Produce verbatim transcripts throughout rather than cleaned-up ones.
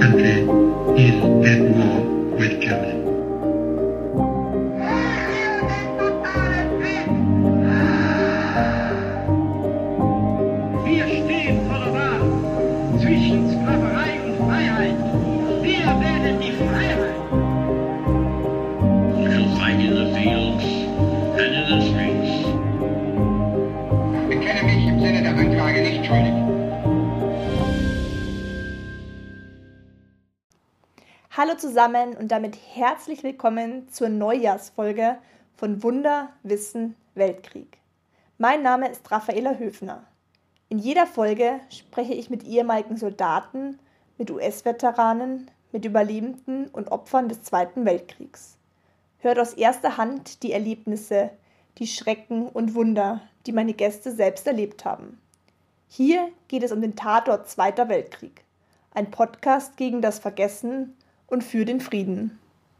country is at war with Germany. Wir stehen vor der Wahl zwischen Sklaverei und Freiheit. Wir wählen die Freiheit. We shall fight in the fields and in the streets. Ich bekenne mich im Sinne der Anklage nicht schuldig. Hallo zusammen und damit herzlich willkommen zur Neujahrsfolge von Wunder, Wissen, Weltkrieg. Mein Name ist Raffaela Höfner. In jeder Folge spreche ich mit ehemaligen Soldaten, mit U S-Veteranen, mit Überlebenden und Opfern des Zweiten Weltkriegs. Hört aus erster Hand die Erlebnisse, die Schrecken und Wunder, die meine Gäste selbst erlebt haben. Hier geht es um den Tatort Zweiter Weltkrieg, ein Podcast gegen das Vergessen und für den Frieden.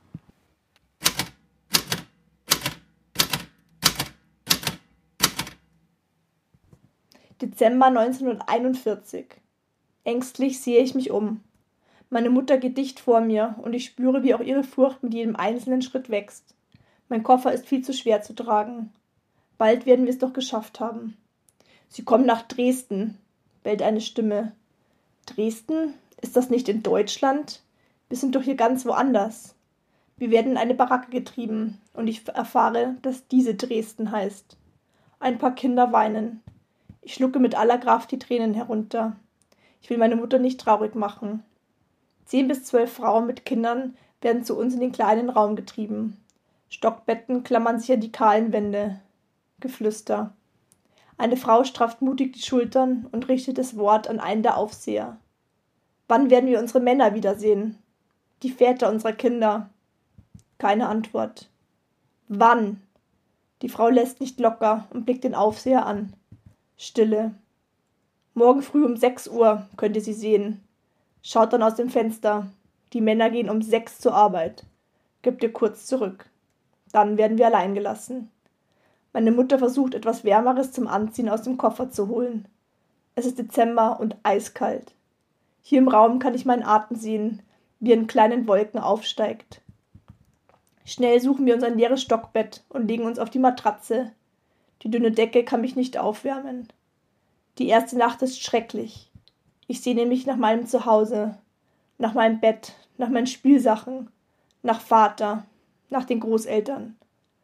Dezember neunzehnhunderteinundvierzig. Ängstlich sehe ich mich um. Meine Mutter geht dicht vor mir und ich spüre, wie auch ihre Furcht mit jedem einzelnen Schritt wächst. Mein Koffer ist viel zu schwer zu tragen. Bald werden wir es doch geschafft haben. Sie kommen nach Dresden, bellt eine Stimme. Dresden? Ist das nicht in Deutschland? Wir sind doch hier ganz woanders. Wir werden in eine Baracke getrieben und ich erfahre, dass diese Dresden heißt. Ein paar Kinder weinen. Ich schlucke mit aller Kraft die Tränen herunter. Ich will meine Mutter nicht traurig machen. Zehn bis zwölf Frauen mit Kindern werden zu uns in den kleinen Raum getrieben. Stockbetten klammern sich an die kahlen Wände. Geflüster. Eine Frau strafft mutig die Schultern und richtet das Wort an einen der Aufseher. Wann werden wir unsere Männer wiedersehen? Die Väter unserer Kinder. Keine Antwort. Wann? Die Frau lässt nicht locker und blickt den Aufseher an. Stille. Morgen früh um sechs Uhr könnt ihr sie sehen. Schaut dann aus dem Fenster. Die Männer gehen um sechs zur Arbeit. Gebt ihr kurz zurück. Dann werden wir allein gelassen. Meine Mutter versucht, etwas Wärmeres zum Anziehen aus dem Koffer zu holen. Es ist Dezember und eiskalt. Hier im Raum kann ich meinen Atem sehen, wie er in kleinen Wolken aufsteigt. Schnell suchen wir uns ein leeres Stockbett und legen uns auf die Matratze. Die dünne Decke kann mich nicht aufwärmen. Die erste Nacht ist schrecklich. Ich sehne mich nach meinem Zuhause, nach meinem Bett, nach meinen Spielsachen, nach Vater, nach den Großeltern.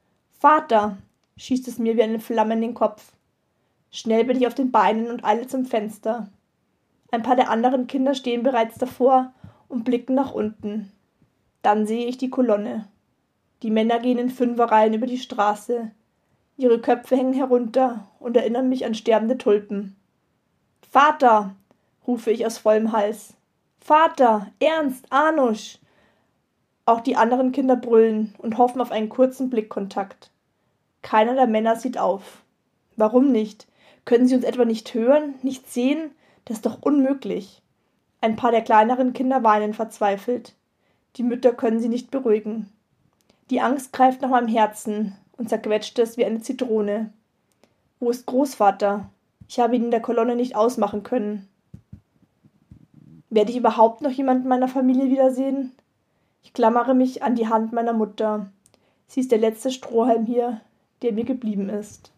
Vater, schießt es mir wie eine Flamme in den Kopf. Schnell bin ich auf den Beinen und eile zum Fenster. Ein paar der anderen Kinder stehen bereits davor und blicken nach unten. Dann sehe ich die Kolonne. Die Männer gehen in Fünferreihen über die Straße. Ihre Köpfe hängen herunter und erinnern mich an sterbende Tulpen. »Vater«, rufe ich aus vollem Hals. »Vater, Ernst, Anusch!« Auch die anderen Kinder brüllen und hoffen auf einen kurzen Blickkontakt. Keiner der Männer sieht auf. Warum nicht? Können sie uns etwa nicht hören, nicht sehen? Das ist doch unmöglich. Ein paar der kleineren Kinder weinen verzweifelt. Die Mütter können sie nicht beruhigen. Die Angst greift nach meinem Herzen und zerquetscht es wie eine Zitrone. Wo ist Großvater? Ich habe ihn in der Kolonne nicht ausmachen können. Werde ich überhaupt noch jemanden meiner Familie wiedersehen? Ich klammere mich an die Hand meiner Mutter. Sie ist der letzte Strohhalm hier, der mir geblieben ist.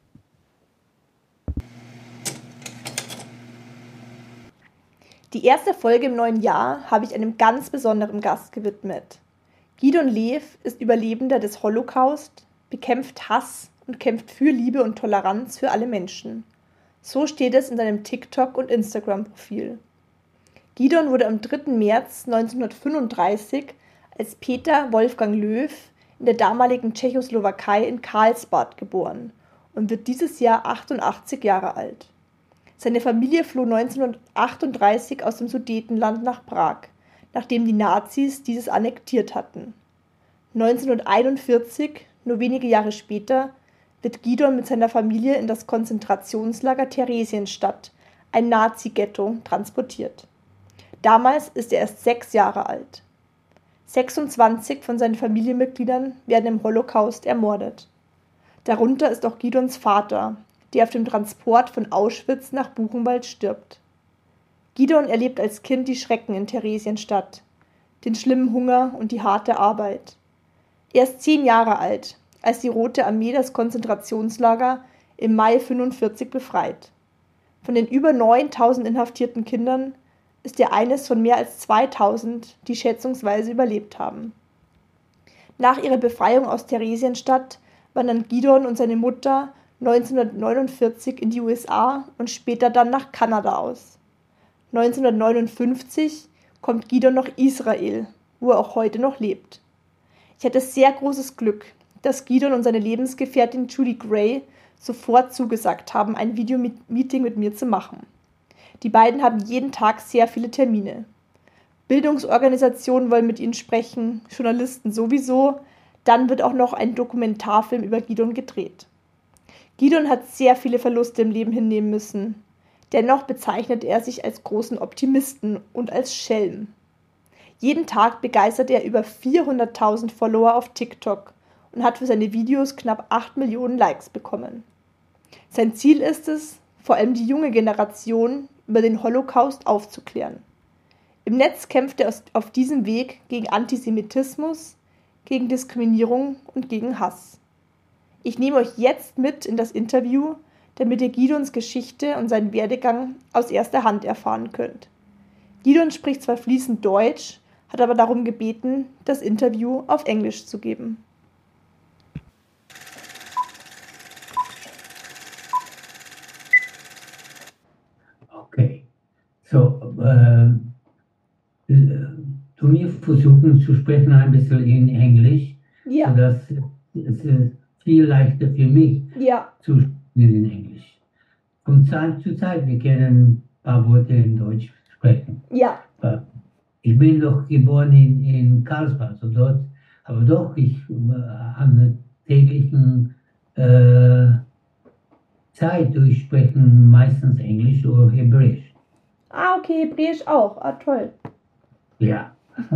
Die erste Folge im neuen Jahr habe ich einem ganz besonderen Gast gewidmet. Gidon Lew ist Überlebender des Holocaust, bekämpft Hass und kämpft für Liebe und Toleranz für alle Menschen. So steht es in seinem TikTok- und Instagram-Profil. Gidon wurde am dritten März neunzehnhundertfünfunddreißig als Peter Wolfgang Löw in der damaligen Tschechoslowakei in Karlsbad geboren und wird dieses Jahr achtundachtzig Jahre alt. Seine Familie floh neunzehnhundertachtunddreißig aus dem Sudetenland nach Prag, nachdem die Nazis dieses annektiert hatten. neunzehnhunderteinundvierzig, nur wenige Jahre später, wird Gidon mit seiner Familie in das Konzentrationslager Theresienstadt, ein Nazi-Ghetto, transportiert. Damals ist er erst sechs Jahre alt. sechsundzwanzig von seinen Familienmitgliedern werden im Holocaust ermordet. Darunter ist auch Gidons Vater, der auf dem Transport von Auschwitz nach Buchenwald stirbt. Gidon erlebt als Kind die Schrecken in Theresienstadt, den schlimmen Hunger und die harte Arbeit. Er ist zehn Jahre alt, als die Rote Armee das Konzentrationslager im Mai fünfundvierzig befreit. Von den über neuntausend inhaftierten Kindern ist er eines von mehr als zweitausend, die schätzungsweise überlebt haben. Nach ihrer Befreiung aus Theresienstadt wandern Gidon und seine Mutter neunzehnhundertneunundvierzig in die U S A und später dann nach Kanada aus. neunzehnhundertneunundfünfzig kommt Gidon nach Israel, wo er auch heute noch lebt. Ich hatte sehr großes Glück, dass Gidon und seine Lebensgefährtin Judy Gray sofort zugesagt haben, ein Videomeeting mit mir zu machen. Die beiden haben jeden Tag sehr viele Termine. Bildungsorganisationen wollen mit ihnen sprechen, Journalisten sowieso, dann wird auch noch ein Dokumentarfilm über Gidon gedreht. Gidon hat sehr viele Verluste im Leben hinnehmen müssen. Dennoch bezeichnet er sich als großen Optimisten und als Schelm. Jeden Tag begeistert er über vierhunderttausend Follower auf TikTok und hat für seine Videos knapp acht Millionen Likes bekommen. Sein Ziel ist es, vor allem die junge Generation über den Holocaust aufzuklären. Im Netz kämpft er auf diesem Weg gegen Antisemitismus, gegen Diskriminierung und gegen Hass. Ich nehme euch jetzt mit in das Interview, damit ihr Gidons Geschichte und seinen Werdegang aus erster Hand erfahren könnt. Gidon spricht zwar fließend Deutsch, hat aber darum gebeten, das Interview auf Englisch zu geben. Okay, so, äh, du mir versuchen zu sprechen ein bisschen in Englisch, Ja. sodass es ist viel leichter für mich Ja. zu sprechen in Englisch. Von Zeit zu Zeit, wir können ein paar Worte in Deutsch sprechen. Ja. Ich bin doch geboren in, in Karlsbad, so dort, aber doch, ich äh, an der täglichen äh, Zeit durchsprechen meistens Englisch oder Hebräisch. Ah, okay, Hebräisch auch. Ah, toll. Ja.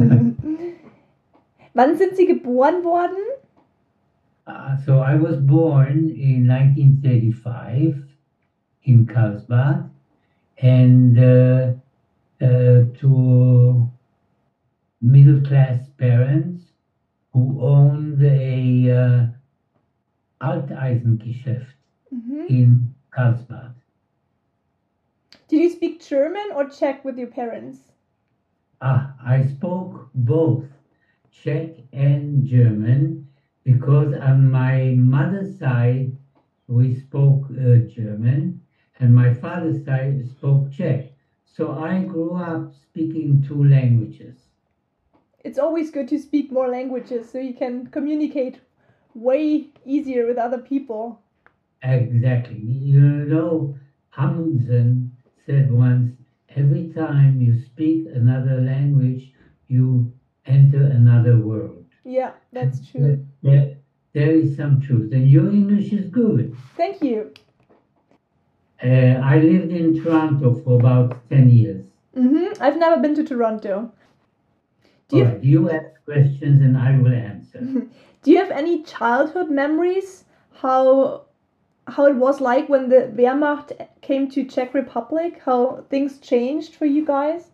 Wann sind Sie geboren worden? Uh, so I was born in nineteen thirty-five in Karlsbad, and uh, uh, to middle-class parents who owned a uh, Alteisengeschäft Mhm. in Karlsbad. Did you speak German or Czech with your parents? Ah, I spoke both Czech and German because on my mother's side we spoke uh, German and my father's side spoke Czech. So I grew up speaking two languages. It's always good to speak more languages so you can communicate way easier with other people. Exactly. You know, Amundsen said once, every time you speak another language, you enter another world. Yeah, that's true. There, there is some truth. And your English is good. Thank you. Uh, I lived in Toronto for about ten years. Mm-hmm. I've never been to Toronto. Do you, All right, you ask questions and I will answer. do you have any childhood memories how how it was like when the Wehrmacht came to Czech Republic? How things changed for you guys?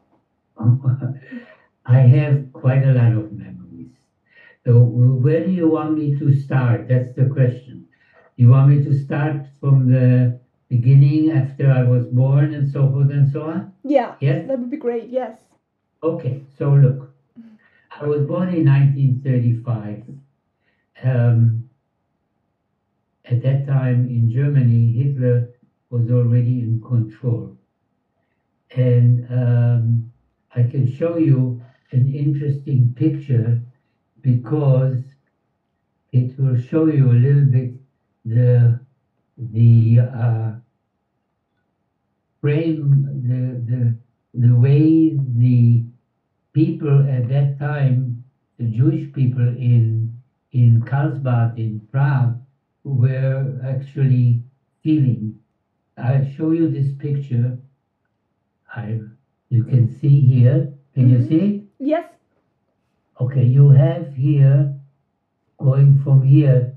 I have quite a lot of memories. So where do you want me to start? That's the question. You want me to start from the beginning after I was born and so forth and so on? Yeah, Yes? that would be great. Yes. Okay, so look, I was born in nineteen thirty-five. Um, at that time in Germany, Hitler was already in control. And um, I can show you an interesting picture because it will show you a little bit the the uh, frame, the, the the way the people at that time, the Jewish people in in Karlsbad in Prague, were actually feeling. I'll show you this picture. I you can see here. Can you Mhm. see it? Yes. Okay, you have here, going from here,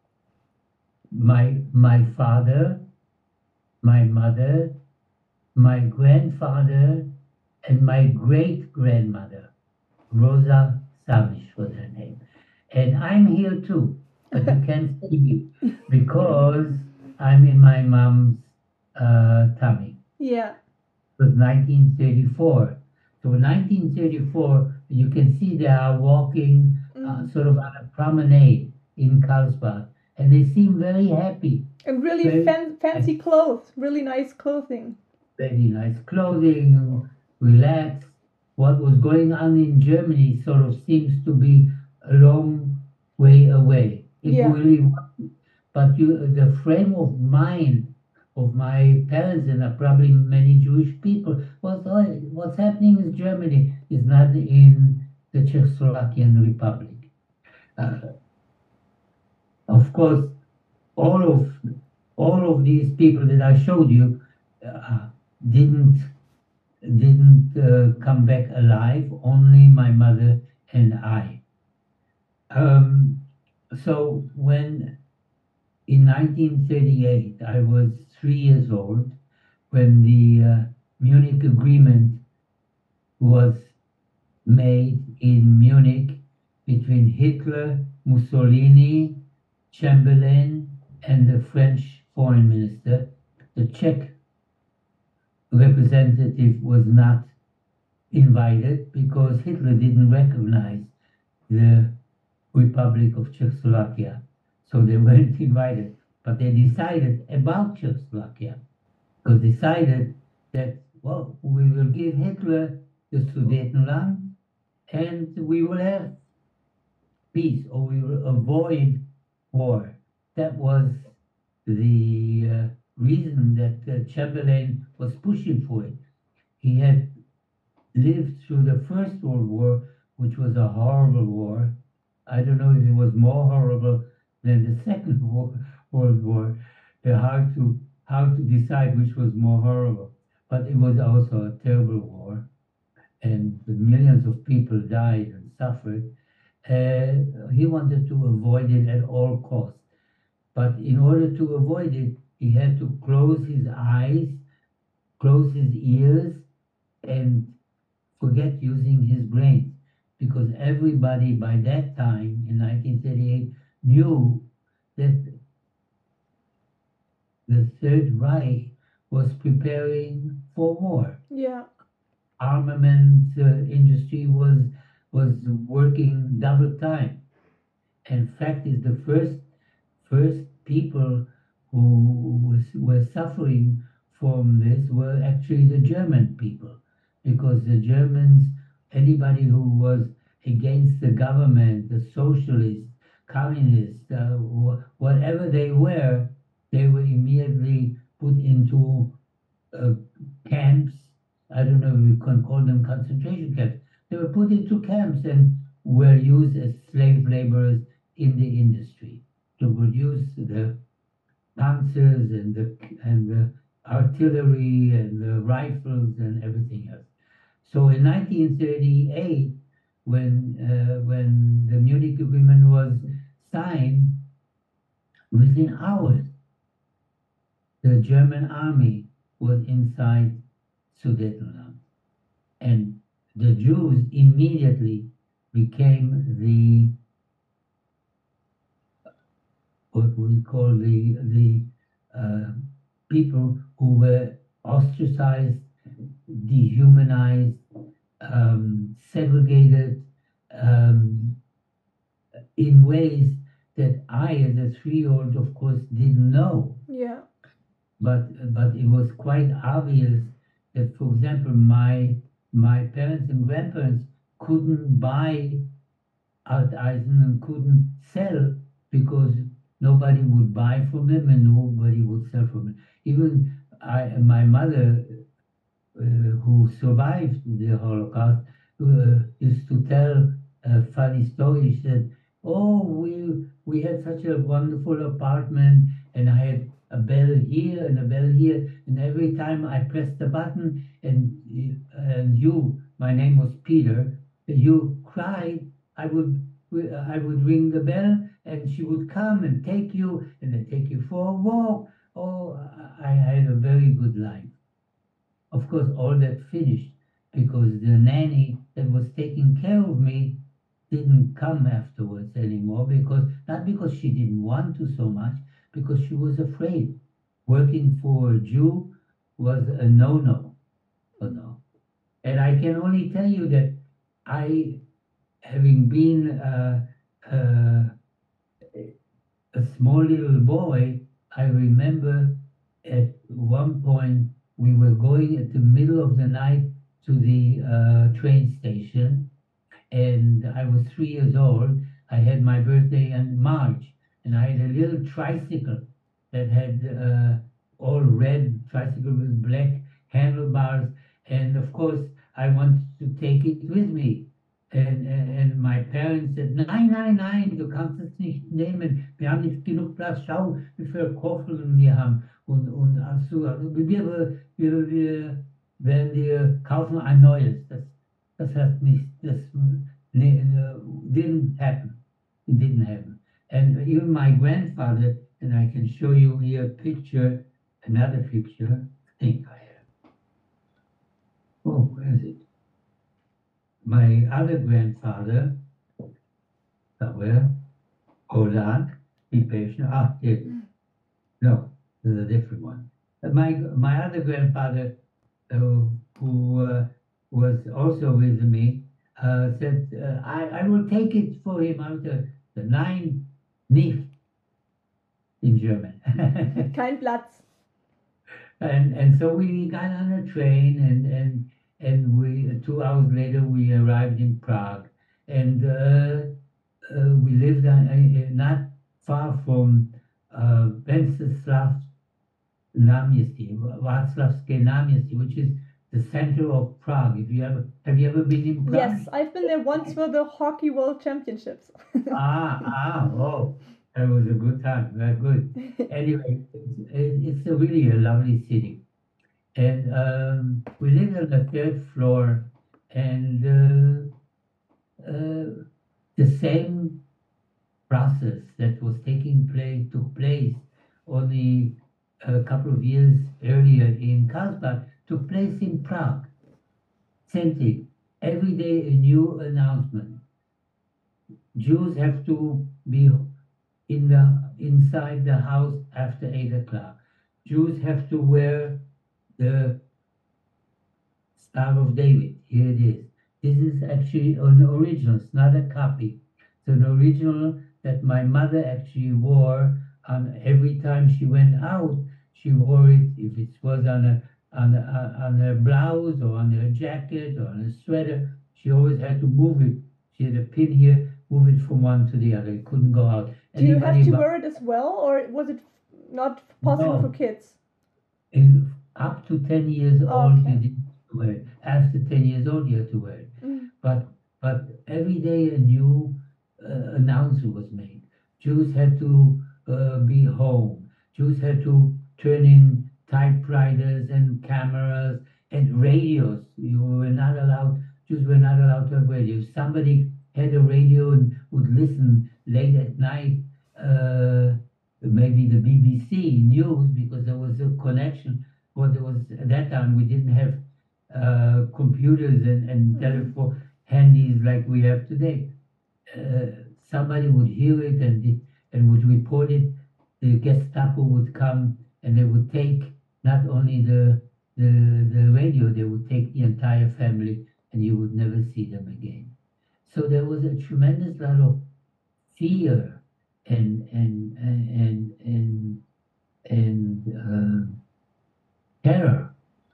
my my father, my mother, my grandfather, and my great grandmother. Rosa Savage was her name. And I'm here too, but you can't see me because I'm in my mom's uh, tummy. Yeah. It was nineteen thirty-four. So in nineteen thirty-four, you can see they are walking uh, Mm. sort of on a promenade in Carlsbad, and they seem very happy. And really Very fan- fancy clothes, really nice clothing. Very nice clothing, relaxed. What was going on in Germany sort of seems to be a long way away. It Yeah. really wasn't. But you, the frame of mind of my parents and uh, probably many Jewish people was, oh, what's happening in Germany is not in the Czechoslovakian Republic. Uh, of course, all of all of these people that I showed you uh, didn't didn't uh, come back alive. Only my mother and I. Um, so when in nineteen thirty-eight I was three years old, when the uh, Munich Agreement was made in Munich between Hitler, Mussolini, Chamberlain, and the French foreign minister. The Czech representative was not invited because Hitler didn't recognize the Republic of Czechoslovakia. So they weren't invited. But they decided about Czechoslovakia, because decided that, well, we will give Hitler the Sudetenland and we will have peace, or we will avoid war. That was the uh, reason that uh, Chamberlain was pushing for it. He had lived through the First World War, which was a horrible war. I don't know if it was more horrible than the Second war, World War. They're hard to hard to decide which was more horrible. But it was also a terrible war, and millions of people died and suffered. Uh, he wanted to avoid it at all costs. But in order to avoid it, he had to close his eyes, close his ears, and forget using his brain. Because everybody by that time, in nineteen thirty-eight, knew that the Third Reich was preparing for war. Yeah. Armament uh, industry was was working double time. In fact, is the first first people who was, were suffering from this were actually the German people, because the Germans, anybody who was against the government, the socialists, communists, uh, wh- whatever they were, they were immediately put into uh, camps. I don't know if we can call them concentration camps. They were put into camps and were used as slave laborers in the industry to produce the panzers and the and the artillery and the rifles and everything else. So in nineteen thirty-eight, when uh, when the Munich Agreement was signed, within hours, the German army was inside Sudetenland, and the Jews immediately became the what we call the the uh, people who were ostracized, dehumanized, um, segregated um, in ways that I, as a three-year-old, of course, didn't know. Yeah. But but it was quite obvious that, for example, my my parents and grandparents couldn't buy Alt Eisen and couldn't sell because nobody would buy from them and nobody would sell from them. Even I, my mother, uh, who survived the Holocaust, uh, used to tell a funny story. She said, "Oh, we we had such a wonderful apartment, and I had a bell here and a bell here, and every time I pressed the button, and and you, my name was Peter, you cried, I would I would ring the bell, and she would come and take you, and then take you for a walk. Oh, I had a very good life." Of course, all that finished, because the nanny that was taking care of me didn't come afterwards anymore, because not because she didn't want to so much, because she was afraid. Working for a Jew was a no-no, you know. And I can only tell you that I, having been uh, uh, a small little boy, I remember at one point we were going at the middle of the night to the uh, train station, and I was three years old. I had my birthday in March, and I had a little tricycle that had uh, all red tricycle with black handlebars, and of course I wanted to take it with me. And, and, and my parents said, nein, nein, nein, du kannst es nicht nehmen. Wir haben nicht genug Platz. Schau, wie viele Koffer wir haben. Und, und also, also wir, wir, wir werden dir kaufen ein neues. Das, das hat nicht, das ne, didn't happen. It didn't happen. And even my grandfather, and I can show you here a picture, another picture, I think I have. Oh, where is it? My other grandfather, somewhere, hold on, be patient. Ah, here. No, there's a different one. Uh, My my other grandfather, uh, who uh, was also with me, uh, said, uh, I, I will take it for him out of the nine nicht in German. Kein Platz. And and so we got on a train, and and and we two hours later we arrived in Prague, and uh, uh, we lived on, uh, not far from uh, Wenceslav Náměstí, Václavské náměstí, which is the center of Prague. If you ever have you ever been in Prague? Yes, I've been there once for the Hockey World Championships. ah ah oh. That was a good time, very good. Anyway, it's, it's a really a lovely city. And um, we lived on the third floor, and uh, uh, the same process that was taking place took place only a couple of years earlier in Karlsbad took place in Prague. Same thing. Every day a new announcement. Jews have to be in the inside the house after eight o'clock. Jews have to wear the Star of David. Here it is. This is actually an original. It's not a copy. It's an original that my mother actually wore on every time she went out. She wore it if it was on a on a, on her blouse or on her jacket or on a sweater. She always had to move it. She had a pin here. Move it from one to the other. It couldn't go out. Do you have Anybody to bu- wear it as well, or was it not possible No. for kids? in- up to ten years Oh, old, okay. you didn't wear it. After ten years old, you had to wear it. Mm. But but every day a new uh, announcement was made. Jews had to uh, be home. Jews had to turn in typewriters and cameras and radios. You were not allowed. Jews were not allowed to have radio. If somebody had a radio and would listen late at night, uh, maybe the B B C news, because there was a connection. Well, there was at that time we didn't have uh, computers and, and telephone handies like we have today. Uh, somebody would hear it and it, and would report it. The Gestapo would come and they would take not only the the the radio, they would take the entire family, and you would never see them again. So there was a tremendous lot of fear and and and and and uh, terror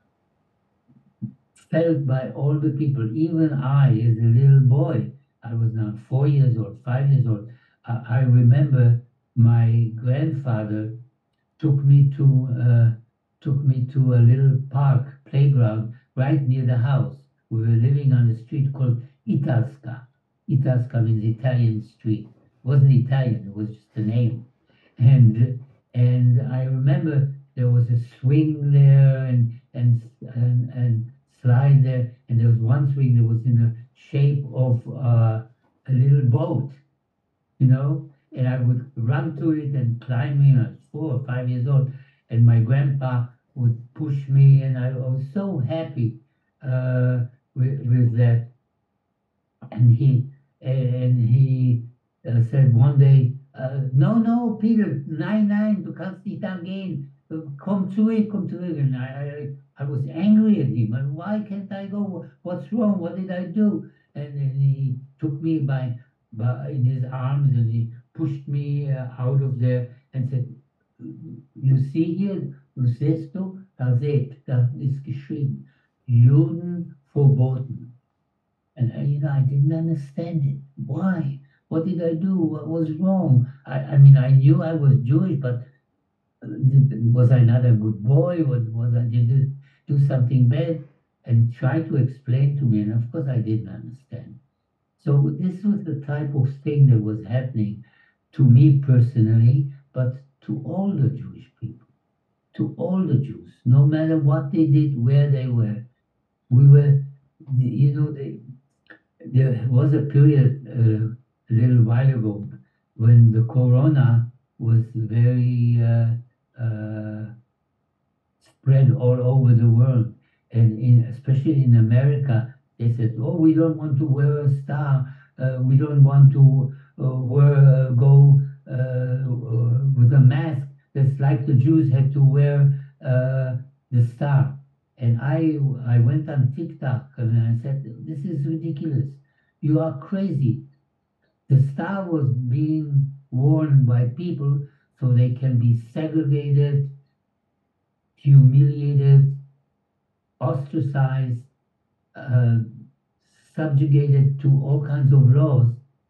felt by all the people. Even I, as a little boy, I was now four years old, five years old. I, I remember my grandfather took me to uh, took me to a little park playground right near the house. We were living on a street called Italska. Italska means Italian street. It wasn't Italian, it was just a name. And and I remember there was a swing there and and and, and slide there, and there was one swing that was in the shape of uh, a little boat, you know, and I would run to it and climb in. I was four or five years old, and my grandpa would push me, and I was so happy. Uh, with that. And he and he uh, said one day, uh, no, no, Peter, nein, nein, du kannst nicht da gehen. Komm zurück, komm zurück. And I, I, I was angry at him. And why can't I go? What's wrong? What did I do? And then he took me by, by in his arms and he pushed me uh, out of there and said, you see here, du siehst du, da seht, da ist geschrieben, Juden verboten. And uh, you know, I didn't understand it. Why? What did I do? What was wrong? I, I mean, I knew I was Jewish, but did, was I not a good boy? Was, was I did I do something bad? And try to explain to me, and of course I didn't understand. So this was the type of thing that was happening to me personally, but to all the Jewish people, to all the Jews, no matter what they did, where they were. We were, you know, they, there was a period uh, a little while ago when the corona was very uh, uh, spread all over the world. And in, especially in America, they said, oh, we don't want to wear a star. Uh, we don't want to uh, wear, uh, go uh, with a mask. That's like the Jews had to wear uh, the star. And I, I went on TikTok and I said, this is ridiculous. You are crazy. The star was being worn by people so they can be segregated, humiliated, ostracized, uh, subjugated to all kinds of laws,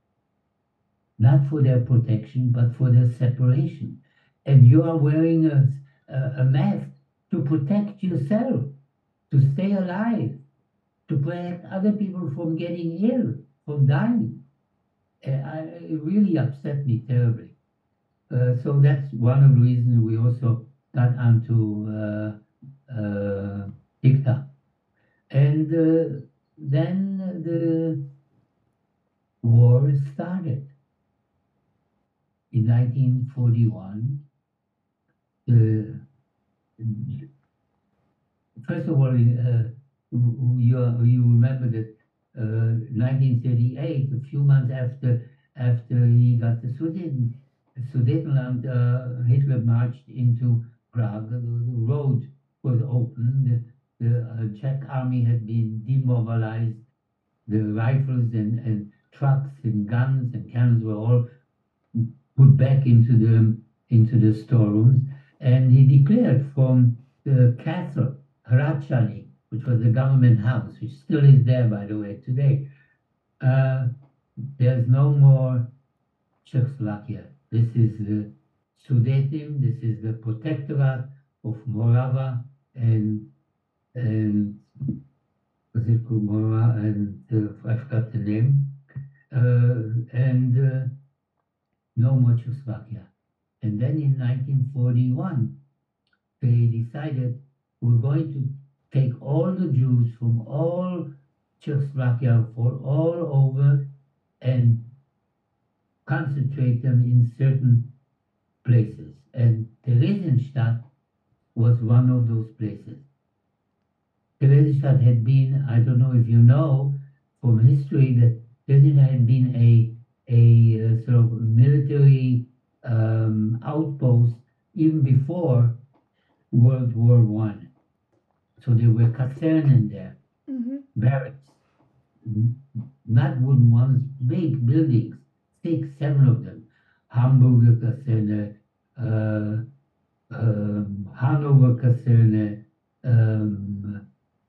not for their protection, but for their separation. And you are wearing a, a, a mask to protect yourself, to stay alive, to protect other people from getting ill, from dying. Uh, I, it really upset me terribly. Uh, so that's one of the reasons we also got onto uh, uh, TikTok. And uh, then the war started. In nineteen forty-one, uh, first of all, uh, you, you remember that uh, nineteen thirty-eight, a few months after after he got the Sudeten, Sudetenland, uh, Hitler marched into Prague. The, the road was open. The, the uh, Czech army had been demobilized. The rifles and, and trucks and guns and cannons were all put back into the into the storerooms, and he declared from the castle Hradčany, which was the government house, which still is there, by the way, today. Uh, there's no more Czechoslovakia. This is the Sudetim. This is the Protectorate of Morava and and was it called Morava and uh, I forgot the name uh, and. Uh, No more Czechoslovakia. And then in nineteen forty-one, they decided we're going to take all the Jews from all Czechoslovakia, for all over, and concentrate them in certain places. And Theresienstadt was one of those places. Theresienstadt had been, I don't know if you know from history, that Theresienstadt had been a a uh, sort of military um, outpost even before World War One. So there were kasernen there, Mm-hmm. barracks, n- not wooden ones, big buildings, six, seven of them. Hamburger Kaserne, uh, um, Hanover Kaserne, um,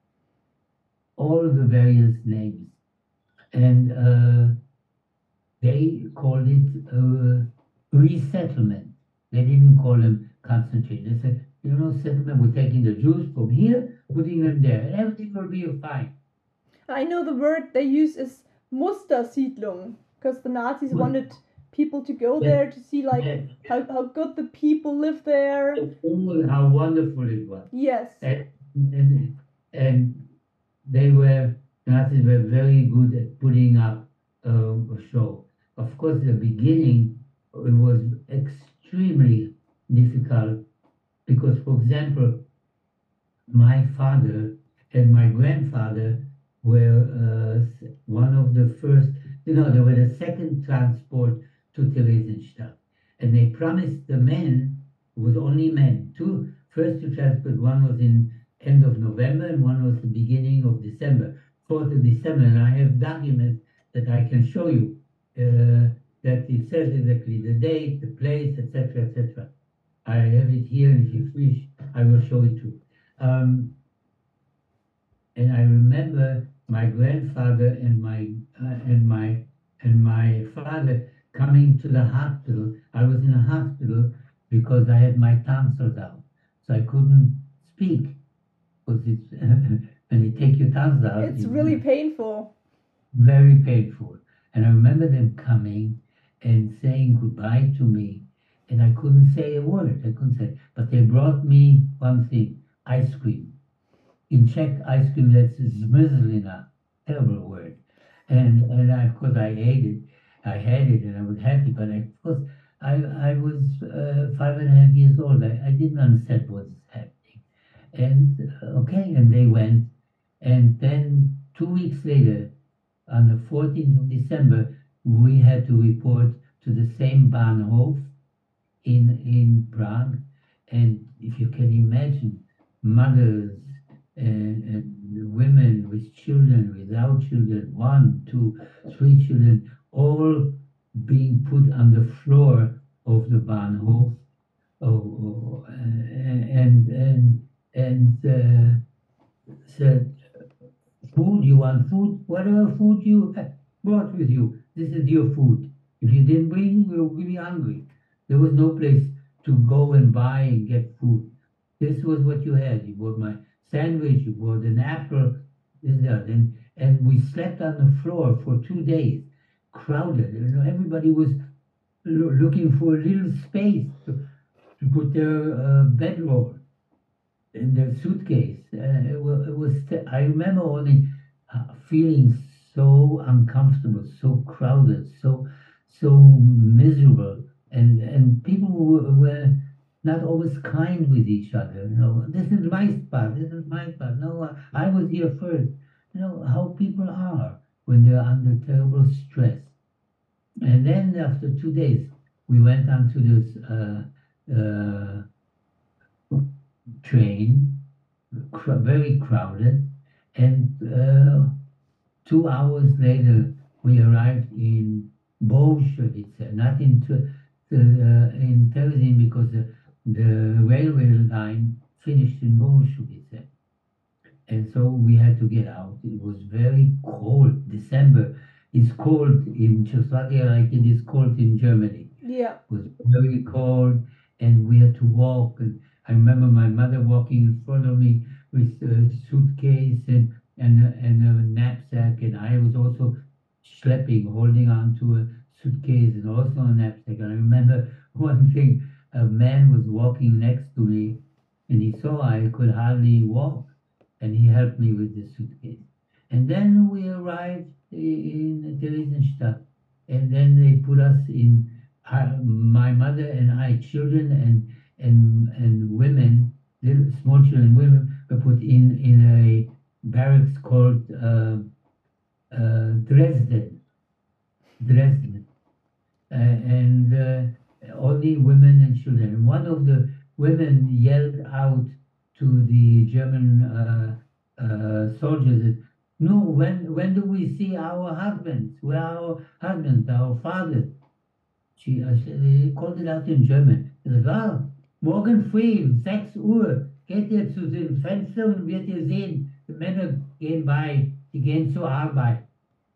all the various names. And uh, they called it uh, resettlement. They didn't call them concentration. They said, you know, settlement, we're taking the Jews from here, putting them there, and everything will be fine. I know the word they use is Mustersiedlung, because the Nazis Mus- wanted people to go Yeah. there to see like Yeah. how, how good the people live there. Oh, how wonderful it was. Yes. And, and, and they were, Nazis were very good at putting up uh, a show. Of course, the beginning, it was extremely difficult because, for example, my father and my grandfather were uh, s- one of the first, you know, they were the second transport to Theresienstadt. And they promised the men, it was only men, two, first two transport, one was in end of November and one was the beginning of December, fourth of December. And I have documents that I can show you uh, that it says exactly the date, the place, et cetera, et cetera. I have it here, and if you wish, I will show it to you. Um, and I remember my grandfather and my uh, and my and my father coming to the hospital. I was in a hospital because I had my tonsils out, so I couldn't speak. Because it's when they take your tonsils out, It's really painful. very painful. And I remember them coming and saying goodbye to me, and I couldn't say a word. I couldn't say, but they brought me one thing: ice cream. In Czech, ice cream, that's zmrzlina, terrible word. And and I, of course I ate it. I had it and I was happy, but I, of course I I was uh, five and a half years old. I, I didn't understand what was happening. And uh, okay, and they went. And then two weeks later, on the fourteenth of December, we had to report to the same Bahnhof in in Prague. And if you can imagine, mothers and, and women with children, without children, one, two, three children, all being put on the floor of the Bahnhof. Oh, oh, and and and uh, said, food, you want food? Whatever food you have brought with you, this is your food. If you didn't bring, you'll be hungry. There was no place to go and buy and get food. This was what you had. You bought my sandwich, you bought an apple, this, that. And, and we slept on the floor for two days, crowded. You know, everybody was lo- looking for a little space to, to put their uh, bedroll in their suitcase. Uh, it was, it was I remember only uh, feeling so uncomfortable, so crowded, so so miserable, and and people were, were not always kind with each other. You know, this is my spot. This is my spot. No, I, I was here first. You know how people are when they're under terrible stress. And then after two days, we went on to this uh, uh, train, cr- very crowded, and uh, two hours later we arrived in Bolshevice, not in T- the, uh, in Terezin, because the, the railway line finished in Bolshevice. And so we had to get out. It was very cold. December is cold in Czechoslovakia like it is cold in Germany. Yeah. It was very cold, and we had to walk. And I remember my mother walking in front of me with a suitcase and and a, and a knapsack, and I was also schlepping, holding on to a suitcase and also a knapsack. And I remember one thing: a man was walking next to me, and he saw I could hardly walk, and he helped me with the suitcase. And then we arrived in Theresienstadt, and then they put us in. Uh, my mother and I, children and and and women, little small children, women, were put in in a barracks called uh, uh, Dresden, Dresden, uh, and uh, only women and children. And one of the women yelled out to the German uh, uh, soldiers, "No, when when do we see our husbands? Where are our husbands, our fathers?" She, uh, she called it out in German. Sie said, ah, morgen früh um sechs Uhr geht ihr zu den Fenstern und wird ihr sehen, die Männer gehen bei, die gehen zur Arbeit.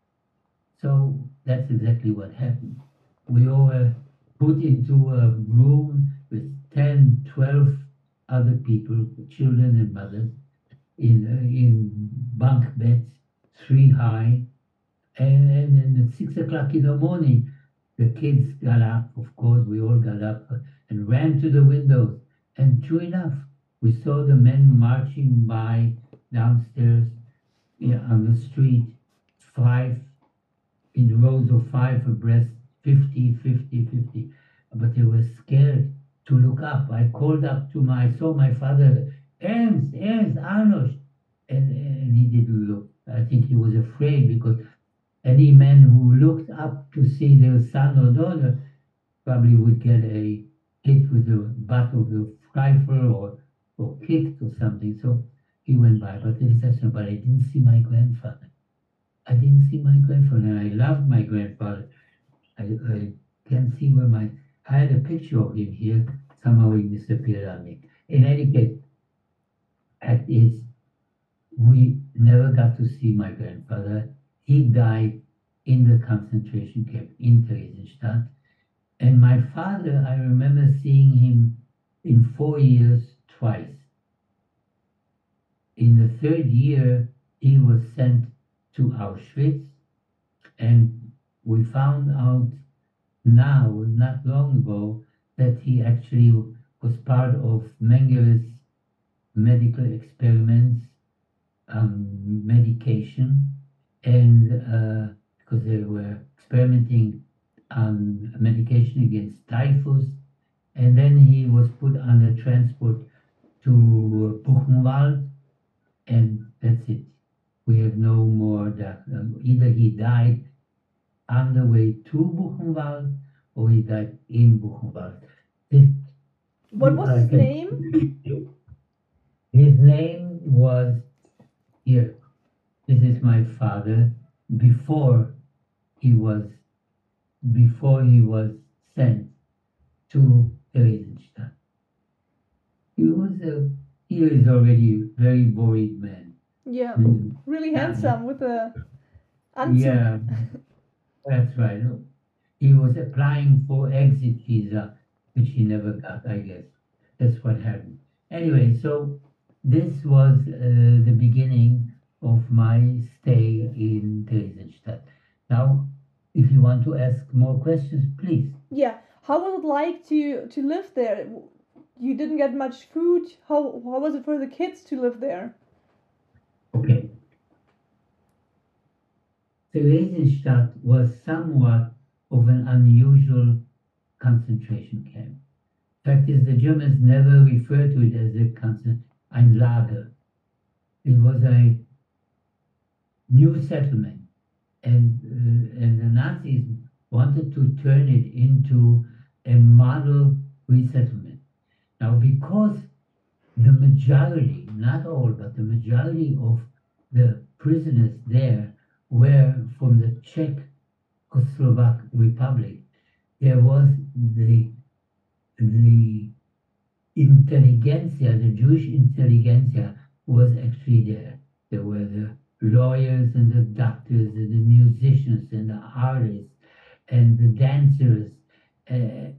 So that's exactly what happened. We all were put into a room with ten, twelve other people, children and mothers, in uh, in bunk beds, three high, and, and then at six o'clock in the morning, the kids got up, of course, we all got up and ran to the windows. And true enough, we saw the men marching by downstairs, yeah, on the street, five, in rows of five abreast, fifty, fifty, fifty. But they were scared to look up. I called up to my, I saw my father, Ernst, Ernst, Arnold. And, and he didn't look. I think he was afraid because any man who looked up to see their son or daughter probably would get a hit with the butt of a rifle or, or kicked or something. So he went by. But it is actually, but I didn't see my grandfather. I didn't see my grandfather. And I loved my grandfather. I, I can't see where my, I had a picture of him here. Somehow he disappeared on me. In any case, fact is, we never got to see my grandfather. He died in the concentration camp in Theresienstadt. And my father, I remember seeing him in four years twice. In the third year, he was sent to Auschwitz, and we found out now, not long ago, that he actually was part of Mengele's medical experiments, um, medication, and uh, because they were experimenting on medication against typhus, and then he was put under transport to Buchenwald, and that's it. We have no more that. Um, either he died on the way to Buchenwald, or he died in Buchenwald. This, What was I his can- name? His name was, here, this is my father, before he was, before he was sent to Theresienstadt. He was a, he is already a very worried man. Yeah, Mm. really handsome with a Anzug. Yeah, that's right. He was applying for exit visa, which he never got, I guess. That's what happened. Anyway, so this was uh, the beginning of my stay in Theresienstadt. Now, if you want to ask more questions, please. Yeah. How was it like to to live there? You didn't get much food. How how was it for the kids to live there? Okay. Theresienstadt was somewhat of an unusual concentration camp. Fact is, the Germans never referred to it as a concent- ein Lager. It was a new settlement, and uh, and the Nazis wanted to turn it into a model resettlement. Now, because the majority, not all, but the majority of the prisoners there were from the Czechoslovak Republic, there was the the intelligentsia, the Jewish intelligentsia was actually there. There were the lawyers and the doctors and the musicians and the artists and the dancers. Uh,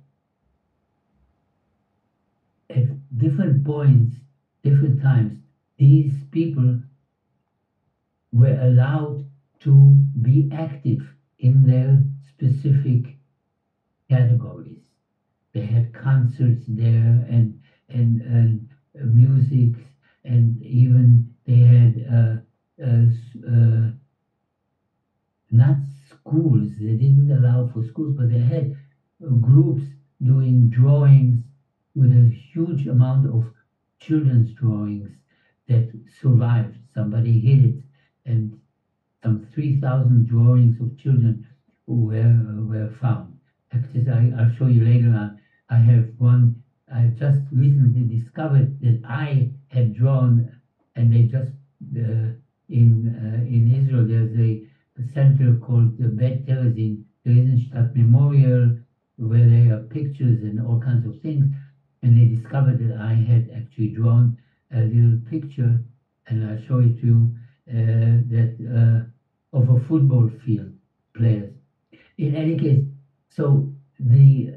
at different points, different times, these people were allowed to be active in their specific categories. They had concerts there and and, and uh, music, and even they had uh, uh, uh, not schools. They didn't allow for schools, but they had uh, groups doing drawings with a huge amount of children's drawings that survived. Somebody hid it, and some three thousand drawings of children were were found. Actually, I, I'll show you later on. I have one I just recently discovered that I had drawn, and they just uh, in uh, in Israel there's a, a center called the Bet Terezin, Theresienstadt Memorial, where there are pictures and all kinds of things, and they discovered that I had actually drawn a little picture, and I'll show it to you, uh, that uh, of a football field players. In any case, so the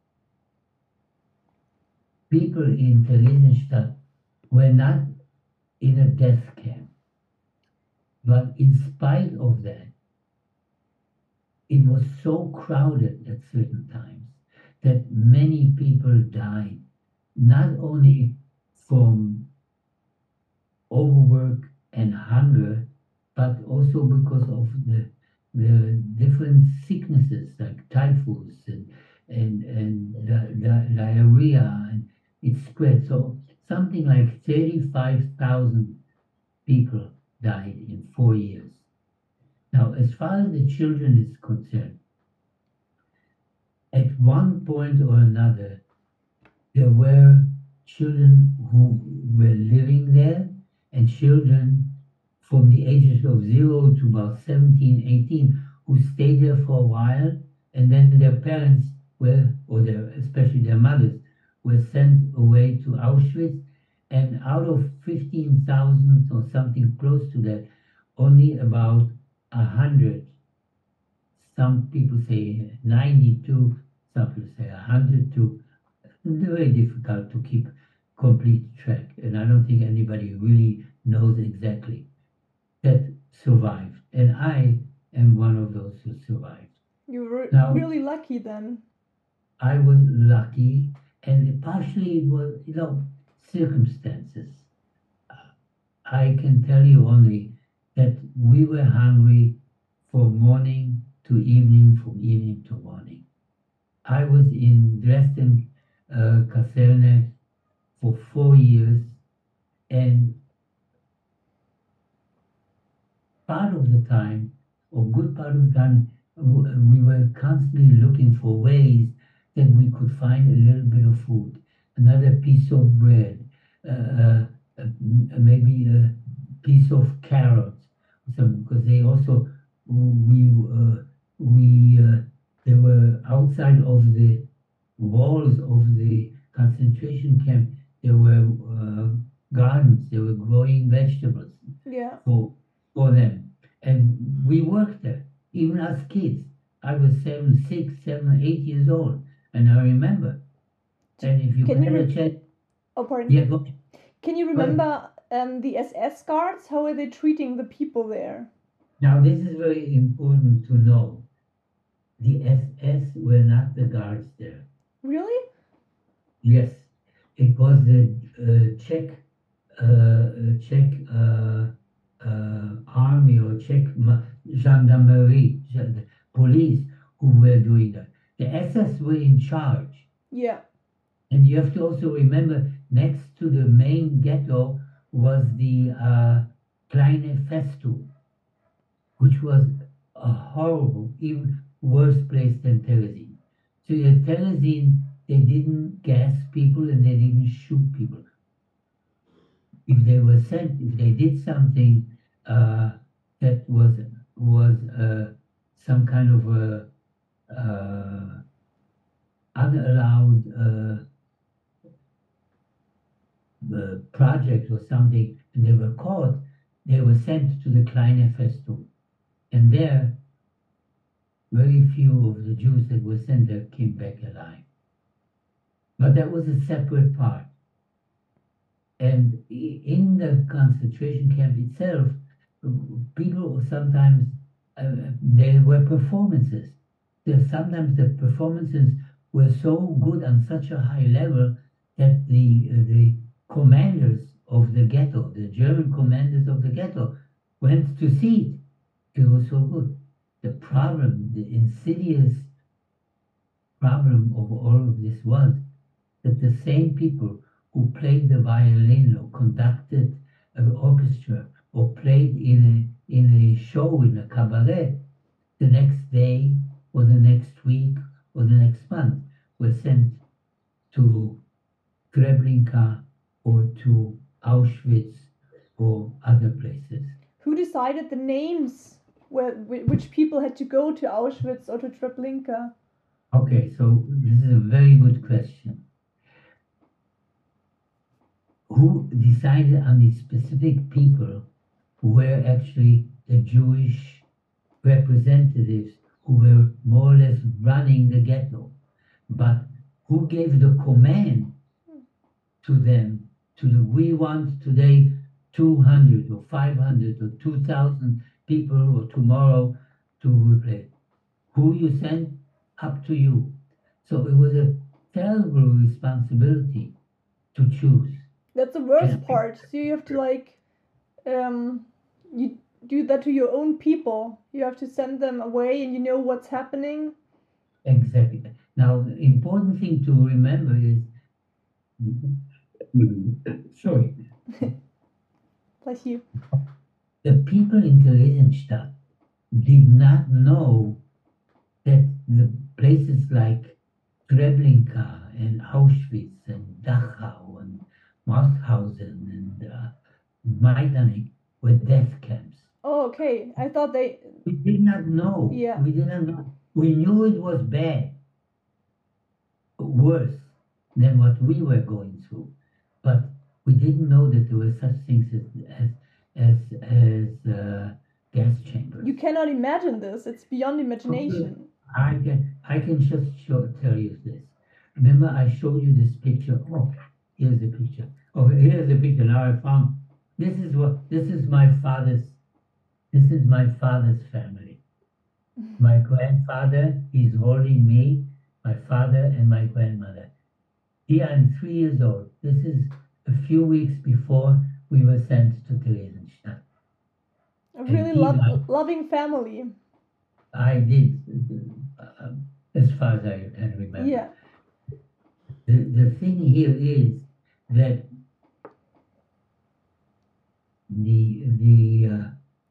people in Theresienstadt were not in a death camp. But in spite of that, it was so crowded at certain times that many people died, not only from overwork and hunger, but also because of the the different sicknesses like typhus and and and di- di- diarrhea, and it spread. So something like thirty-five thousand people died in four years. Now, as far as the children is concerned, at one point or another, there were children who were living there and children from the ages of zero to about seventeen, eighteen, who stayed there for a while, and then their parents were, or their, especially their mothers, were sent away to Auschwitz. And out of fifteen thousand or something close to that, only about one hundred, some people say ninety-two, some people say one hundred two. It's very difficult to keep complete track, and I don't think anybody really knows exactly, that survived. And I am one of those who survived. You were Now- really lucky then. I was lucky, and partially it was, you know, circumstances. Uh, I can tell you only that we were hungry from morning to evening, from evening to morning. I was in Dresden uh, Kaserne for four years, and part of the time, or good part of the time, w- we were constantly looking for ways that we could find a little bit of food, another piece of bread, uh, uh, uh, maybe a piece of carrots, some, because they also, we, uh, we, uh, they were outside of the walls of the concentration camp. There were uh, gardens, they were growing vegetables Yeah. for, for them. And we worked there, even as kids. I was seven, six, seven, eight years old, and I remember. And if you Can you had a re- chance, Oh, pardon. yeah, go. Can you remember um, the S S guards? How are they treating the people there? Now this is very important to know. The S S were not the guards there. Really? Yes, it was the uh, Czech, uh, uh, Czech uh, uh, army or Czech ma- gendarmerie, gen- the police who were doing that. The S S were in charge. Yeah. And you have to also remember, next to the main ghetto was the uh, Kleine Festung, which was a horrible, even worse place than Terezin. So at Terezin, they didn't gas people and they didn't shoot people. If they were sent, if they did something uh, that was was uh, some kind of a uh, unallowed uh, uh, project or something, and they were caught, they were sent to the Kleine Festung. And there, very few of the Jews that were sent there came back alive. But that was a separate part. And i- in the concentration camp itself, people sometimes, uh, there were performances. There, sometimes the performances were so good on such a high level that the, uh, the commanders of the ghetto, the German commanders of the ghetto, went to see it. It was so good. The problem, the insidious problem of all of this was that the same people who played the violin or conducted an orchestra or played in a in a show, in a cabaret, the next day or the next week or the next month were sent to Treblinka or to Auschwitz or other places. Who decided the names where whi- which people had to go to Auschwitz or to Treblinka? Okay, so this is a very good question. Who decided on the specific people who were actually the Jewish representatives who were more or less running the ghetto? But who gave the command to them to the, we want today two hundred or five hundred or two thousand people or tomorrow to replace? Who you send, up to you. So it was a terrible responsibility to choose. That's the worst Yeah. part. So you have to like, um, you do that to your own people. You have to send them away, and you know what's happening. Exactly. Now, the important thing to remember is, sorry, Bless you. the people in Theresienstadt did not know that the places like Treblinka and Auschwitz and Dachau and Mauthausen and uh, Majdanek were death camps. Oh, okay. I thought they. We did not know. Yeah. We did not know. We knew it was bad, worse than what we were going through, but we didn't know that there were such things as as as, as uh, gas chambers. You cannot imagine this. It's beyond imagination. I can I can just show, tell you this. Remember, I showed you this picture. Oh, here's the picture. Oh, here's the picture. Now I found this is what this is my father's. This is my father's family. My grandfather is holding me, my father, and my grandmother. Here I'm three years old. This is a few weeks before we were sent to Theresienstadt. A really he lo- liked- loving family. I did, uh, as far as I can remember. Yeah. The, the thing here is that the the uh,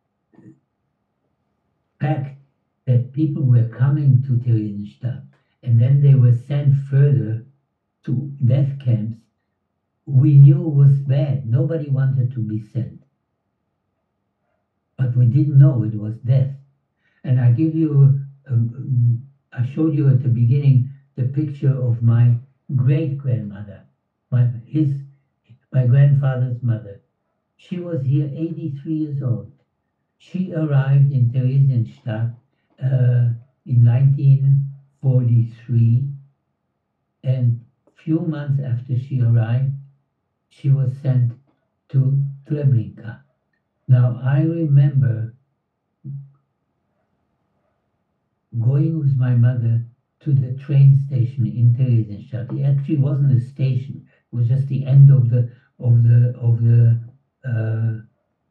fact that people were coming to Theresienstadt and then they were sent further to death camps, we knew was bad. Nobody wanted to be sent. But we didn't know it was death. And I give you, um, I showed you at the beginning the picture of my great grandmother, my his my grandfather's mother. She was here eighty-three years old. She arrived in Theresienstadt uh, in nineteen forty-three, and few months after she arrived, she was sent to Treblinka. Now I remember going with my mother to the train station in Theresienstadt. It actually wasn't a station; it was just the end of the of the of the uh,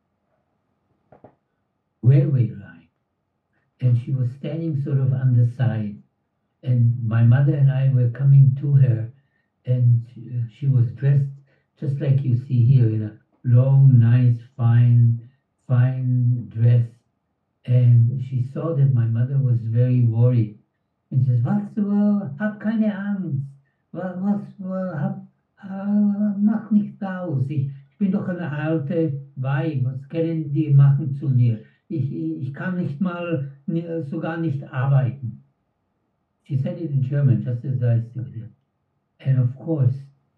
railway line, and she was standing sort of on the side. And my mother and I were coming to her, and she was dressed just like you see here in a long, nice, fine, fine dress. And she saw that my mother was very worried. And she says, was, uh, hab keine Angst. Was, was, uh, hab, uh, mach nichts aus. Ich, ich bin doch eine alte Weib. Was können die machen zu mir? Ich, ich kann nicht mal, sogar nicht arbeiten. She said it in German, just as I said it. And of course,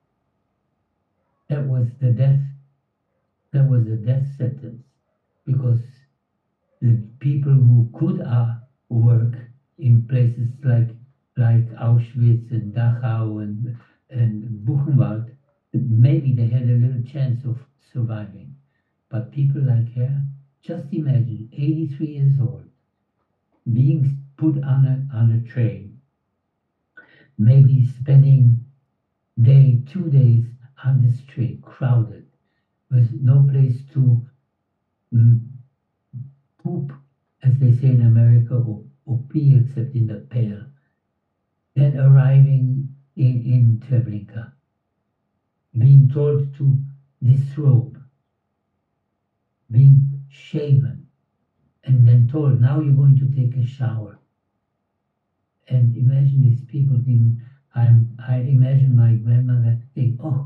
that was the death, that was the death sentence, because the people who could uh, work in places like like Auschwitz and Dachau and and Buchenwald, maybe they had a little chance of surviving. But people like her, just imagine, eighty-three years old, being put on a on a train, maybe spending day, two days on this train, crowded, with no place to mm, poop, as they say in America, or, or pee except in the pail. Then arriving in, in Treblinka, being told to disrobe, being shaven, and then told, now you're going to take a shower. And imagine these people thinking, I'm, I imagine my grandmother think, oh,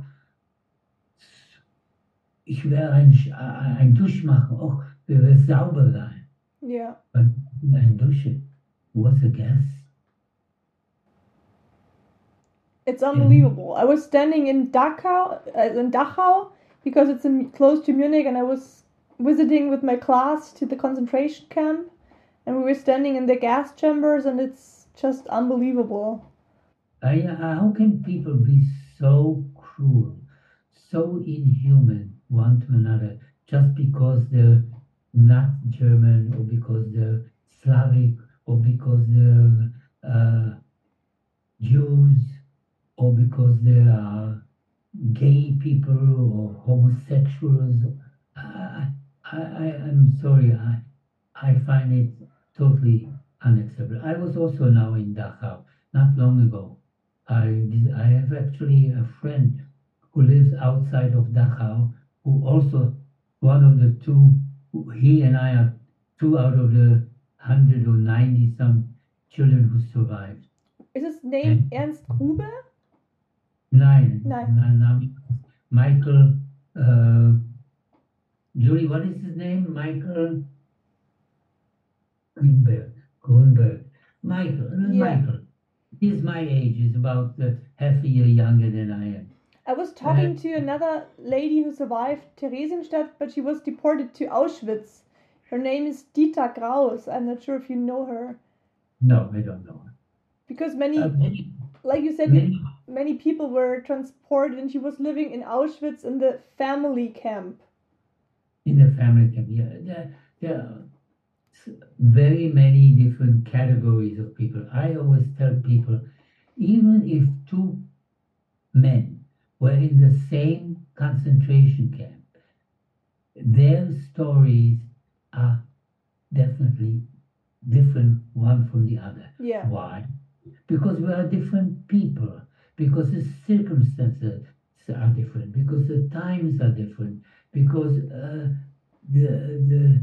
ich werde ein, ein Dusch machen, oh, wir werden sauber sein. Yeah. But ein Dusche was a gas. It's unbelievable. I was standing in Dachau, uh, in Dachau, because it's in, close to Munich, and I was visiting with my class to the concentration camp, and we were standing in the gas chambers, and it's just unbelievable. I, uh, how can people be so cruel, so inhuman one to another, just because they're not German, or because they're Slavic, or because they're uh, Jews, or because they are gay people or homosexuals? I, I, I, I'm sorry, I, I find it totally unacceptable. I was also now in Dachau, not long ago. I, I have actually a friend who lives outside of Dachau, who also, one of the two he and I are two out of the hundred or ninety some children who survived. Is his name Ernst Grube? Nine. Nine. Nine, nine. Michael. Uh, Julie, what is his name? Michael Greenberg. Greenberg. Michael. uh, Yeah. Michael. He's my age. He's about uh, half a year younger than I am. I was talking to another lady who survived Theresienstadt, but she was deported to Auschwitz. Her name is Dita Graus. I'm not sure if you know her. No, I don't know. Because many, Uh, many, like you said, many, many people were transported and she was living in Auschwitz in the family camp. in the family camp, yeah, there, there are s- very many different categories of people. I always tell people, even if two men were in the same concentration camp, their stories are definitely different one from the other. Yeah. Why? Because we are different people, because the circumstances are different, because the times are different, because uh, the, the,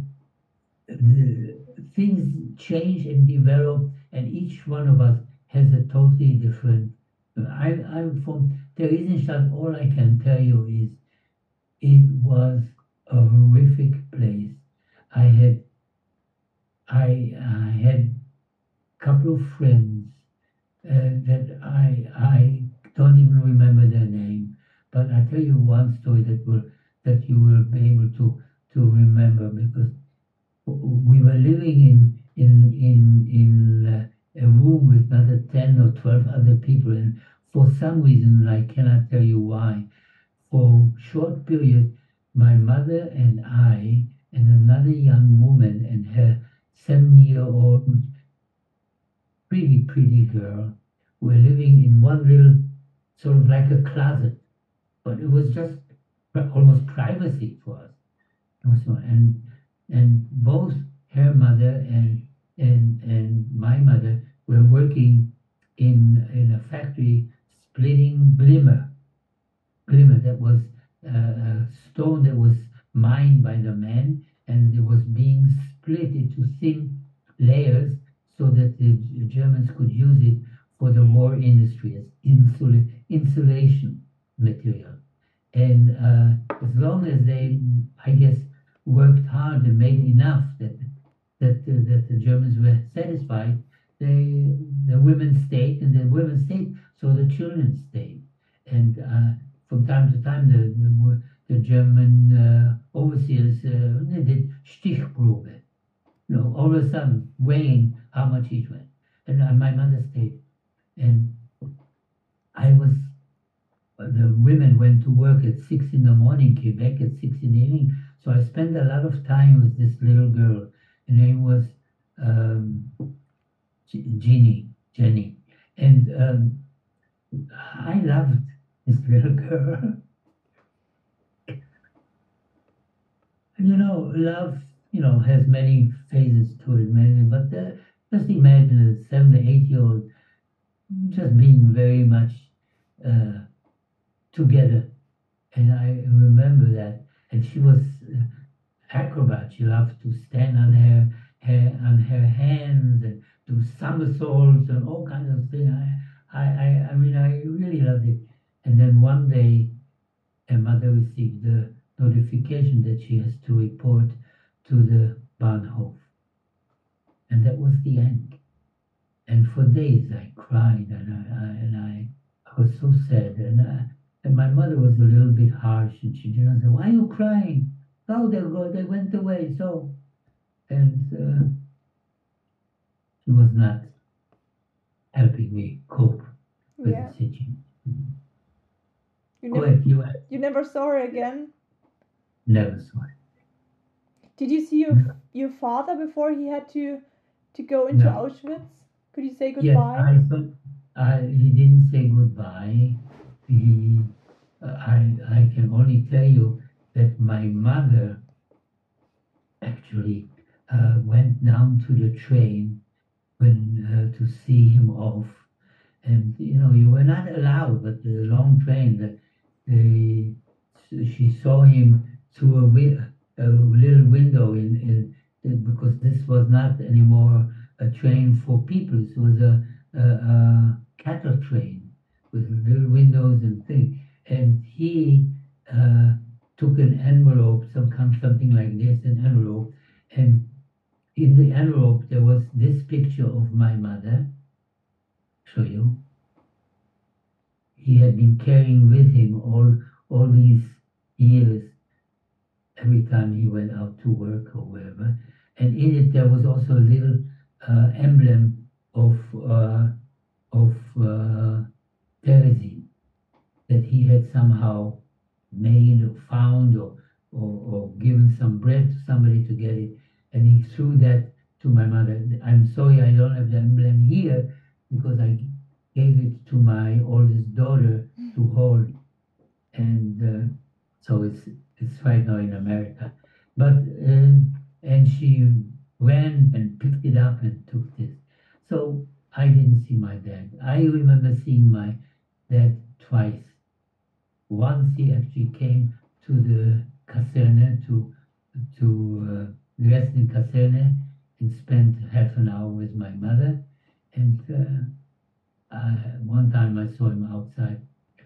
the things change and develop, and each one of us has a totally different. I, I'm from Theresienstadt. All I can tell you is it was a horrific place. I had I, I had a couple of friends uh, that I I don't even remember their name, but I tell you one story that will that you will be able to to remember, because we were living in in in in uh, a room with another ten or twelve other people, and for some reason I cannot tell you why, for a short period, my mother and I and another young woman and her seven-year-old pretty pretty girl were living in one little sort of like a closet, but it was just pri- almost privacy for us. Also, and and both her mother and and and my mother were working in in a factory splitting glimmer, glimmer that was uh, a stone that was mined by the men, and it was being split into thin layers so that the G- Germans could use it for the war industry as insula- insulation material. And uh, as long as they, I guess, worked hard and made enough that that uh, that the Germans were satisfied, they the women stayed, and the women stayed, so the children stayed. And uh, from time to time, the the, wo- the German uh, overseers uh, they did Stichprobe, you know, all of a sudden weighing how much each went. And uh, my mother stayed, and I was. The women went to work at six in the morning, came back at six in the evening. So I spent a lot of time with this little girl. Her name was um, G- Jeannie, Jenny, and um, I loved this little girl. You know, love, you know, has many phases to it, many. But uh, just imagine a seven or eight year old just being very much. Uh, together, and I remember that. And she was uh, acrobat. She loved to stand on her, her on her hands and do somersaults and all kinds of things. I, I, I, I mean, I really loved it. And then one day, her mother received the notification that she has to report to the Bahnhof, and that was the end. And for days I cried, and I, I and I, I was so sad, and. I, And my mother was a little bit harsh, and she didn't say, "Why are you crying? Oh, they go, they went away." So, and uh, she was not helping me cope with Yeah. the situation. You Go never, ahead, you uh, you never saw her again. never saw it. Did you see your No. your father before he had to to go into No. Auschwitz? Could you say Yes, goodbye? I thought I, he didn't say goodbye. He, uh, I, I can only tell you that my mother actually uh, went down to the train when uh, to see him off, and you know you were not allowed, but the long train that they she saw him through a wi- a little window in, in, in because this was not anymore a train for people. It was a, a, a cattle train with little windows and things. And he uh, took an envelope, some kind something like this, an envelope, and in the envelope there was this picture of my mother. Show you. He had been carrying with him all all these years, every time he went out to work or wherever. And in it there was also a little uh, emblem of uh, of uh, Terezin that he had somehow made or found or, or or given some bread to somebody to get it. And he threw that to my mother. I'm sorry I don't have the emblem here because I gave it to my oldest daughter to hold. And uh, so it's it's right now in America. But uh, and she ran and picked it up and took this. So I didn't see my dad. I remember seeing my dad twice. Once he actually came to the Kaserne to to uh, the Western Kaserne and spent half an hour with my mother. And uh, I, one time I saw him outside.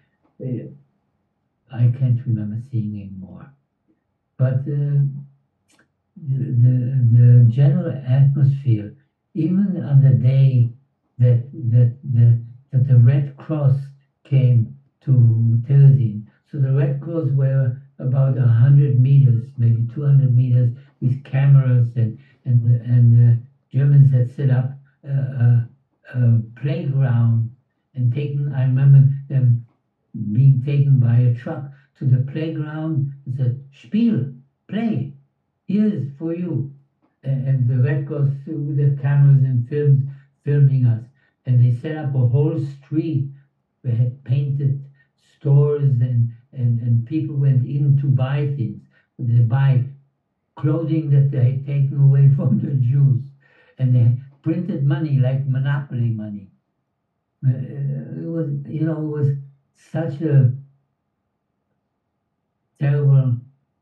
I can't remember seeing him more. But uh, the, the the general atmosphere, even on the day that that the that the Red Cross came to Terezin, so the Red Cross were about a hundred meters, maybe two hundred meters, with cameras, and and and the Germans had set up a, a, a playground and taken. I remember them being taken by a truck to the playground and said, "Spiel, play, here's for you." And, and the Red Cross with the cameras and films filming us, and they set up a whole street. They had painted stores, and, and, and people went in to buy things. They buy clothing that they had taken away from the Jews, and they printed money like monopoly money. Uh, it was, you know, it was such a terrible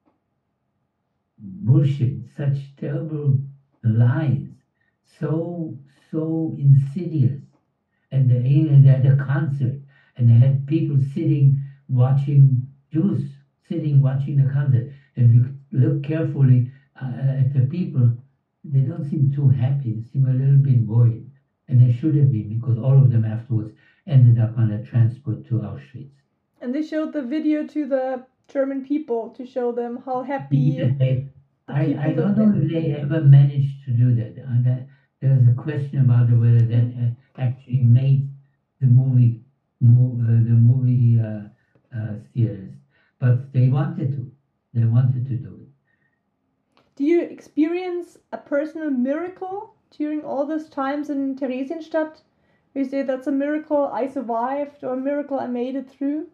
bullshit, such terrible lies, so so insidious. And they, and they had a concert, and they had people sitting watching Jews sitting watching the concert. And if you look carefully uh, at the people, they don't seem too happy. They seem a little bit worried, and they should have been, because all of them afterwards ended up on a transport to Auschwitz. And they showed the video to the German people to show them how happy. They, I, I don't know if they ever managed to do that. Uh, that there's a question about whether that uh, actually made the movie, mo- uh, the movie uh, uh, theaters, but they wanted to. They wanted to do it. Do you experience a personal miracle during all those times in Theresienstadt? You say that's a miracle I survived, or a miracle I made it through?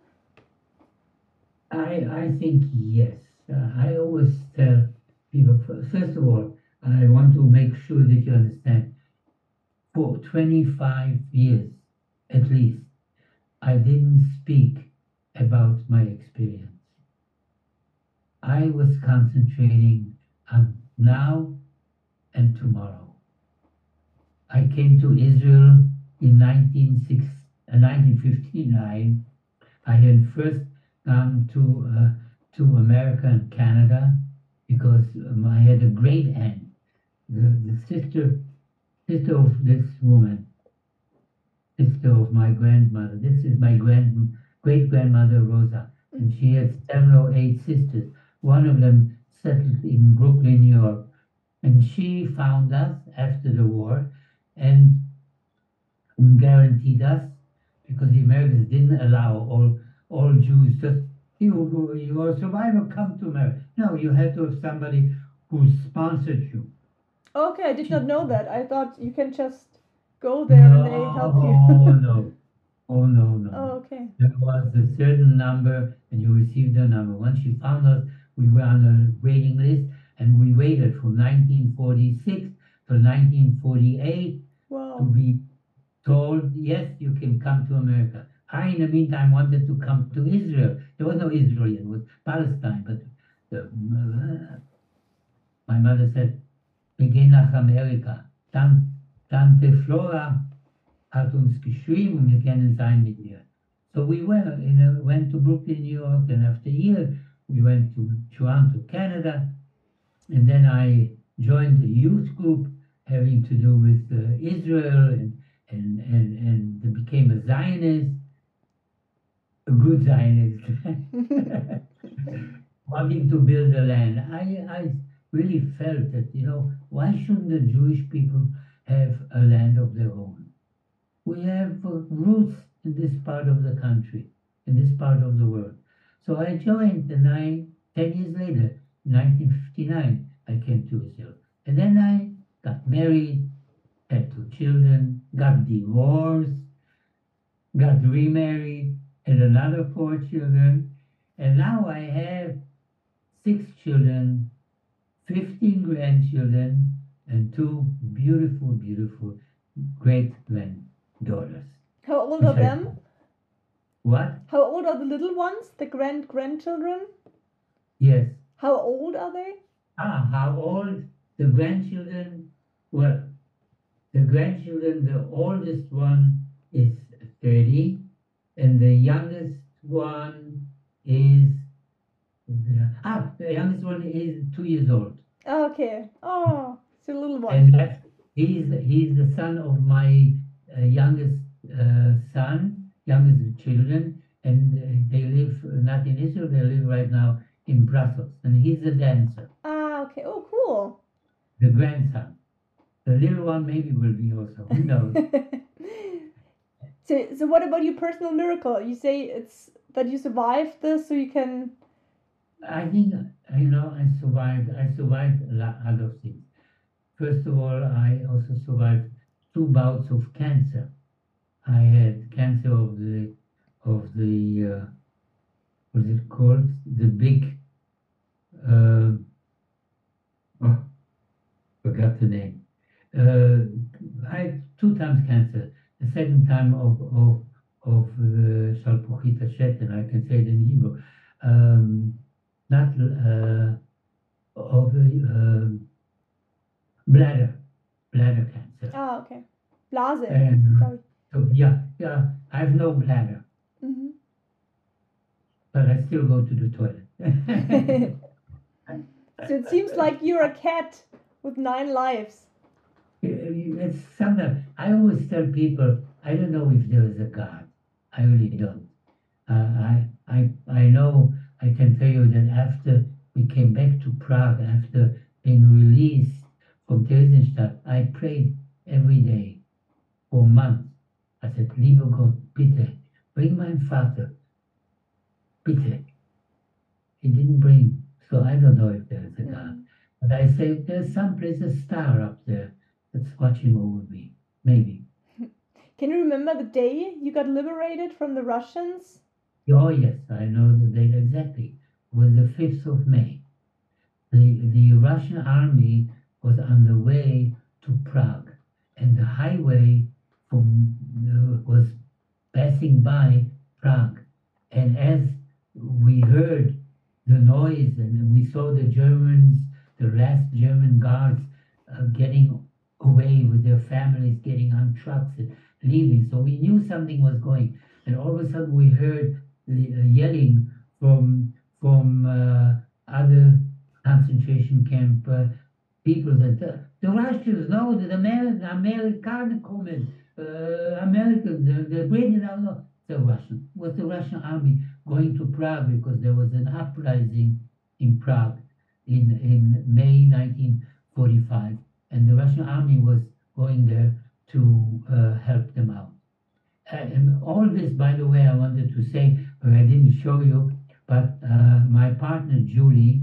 I I think yes. Uh, I always tell people, first of all, I want to make sure that you understand, for twenty-five years at least, I didn't speak about my experience. I was concentrating on now and tomorrow. I came to Israel in nineteen fifty-nine. I had first gone to uh, to America and Canada because um, I had a great aunt, the, the sister sister of this woman, sister of my grandmother. This is my grand great grandmother Rosa, and she had seven or eight sisters. One of them settled in Brooklyn, New York, and she found us after the war and guaranteed us, because the Americans didn't allow all all Jews just, you you're a survivor, come to America. No, you had to have somebody who sponsored you. Okay, I did not know that. I thought you can just go there no, and they help you. Oh no, oh no, no. Oh, okay. There was a certain number, and you received a number. Once you found us, we were on a waiting list, and we waited from nineteen forty-six to nineteen forty-eight Wow. to be told, yes, you can come to America. I, in the meantime, wanted to come to Israel. There was no Israel yet, it was Palestine. But the, uh, my mother said, wir gehen nach Amerika. Dann, Tante Flora hat uns geschrieben und wir können sein mit ihr. So we were, you know, went to Brooklyn, New York, and after a year we went to Toronto, Canada, and then I joined a youth group having to do with uh, Israel and, and, and, and became a Zionist, a good Zionist, wanting to build the land. I, I really felt that, you know, why shouldn't the Jewish people have a land of their own? We have uh, roots in this part of the country, in this part of the world. So I joined, and I, ten years later, nineteen fifty-nine, I came to Israel. And then I got married, had two children, got divorced, got remarried, had another four children, and now I have six children, fifteen grandchildren, and two beautiful, beautiful great-granddaughters. How old are Which I- them? What? How old are the little ones, the grand grandchildren? Yes. How old are they? Ah, how old the grandchildren? Well, the grandchildren, the oldest one is thirty, and the youngest one is, ah, the youngest one is two years old. Oh, okay. Oh, it's a little one. And that's, he's, he's the son of my uh, youngest uh, son, youngest children, and uh, they live not in Israel, they live right now in Brussels, and he's a dancer. Ah, okay. Oh, cool. The grandson. The little one maybe will be also. Who knows? so, so what about your personal miracle? You say it's that you survived this, so you can. I think, you know, I survived. I survived a lot other things. First of all, I also survived two bouts of cancer. I had cancer of the, of the, uh, what is it called? The big, uh, oh, forgot the name. Uh, I had two times cancer. The second time of of of uh, Shalpochit Hashet, and I can say it in Hebrew. Um, not uh, of uh, bladder, bladder cancer. Ah, okay. Blase. And glaub ich. so yeah, yeah, I have no bladder, Mhm. but I still go to the toilet. So it seems like you're a cat with nine lives. It's something I always tell people. I don't know if there is a God. I really don't. Uh, I I I know. I can tell you that after we came back to Prague, after being released from Theresienstadt, I prayed every day for months. I said, "Lieber Gott, bitte bring meinen Vater, bitte." He didn't bring, so I don't know if there is a God. But I say there's someplace a star up there that's watching over me. Maybe. Can you remember the day you got liberated from the Russians? Oh yes, I know the date exactly. It was the fifth of May. The the Russian army was on the way to Prague, and the highway from uh, was passing by Prague. And as we heard the noise and we saw the Germans, the last German guards, uh, getting away with their families, getting on trucks and leaving. So we knew something was going. And all of a sudden we heard the uh, yelling from from uh, other concentration camp uh, people that the, the Russians, no, the American, Amerikaner kommen, uh, Americans, the, the British, no, no, the Russian. It was the Russian army going to Prague because there was an uprising in Prague in, in May nineteen forty-five. And the Russian army was going there to uh, help them out. And all this, by the way, I wanted to say, but I didn't show you, but uh, my partner, Julie,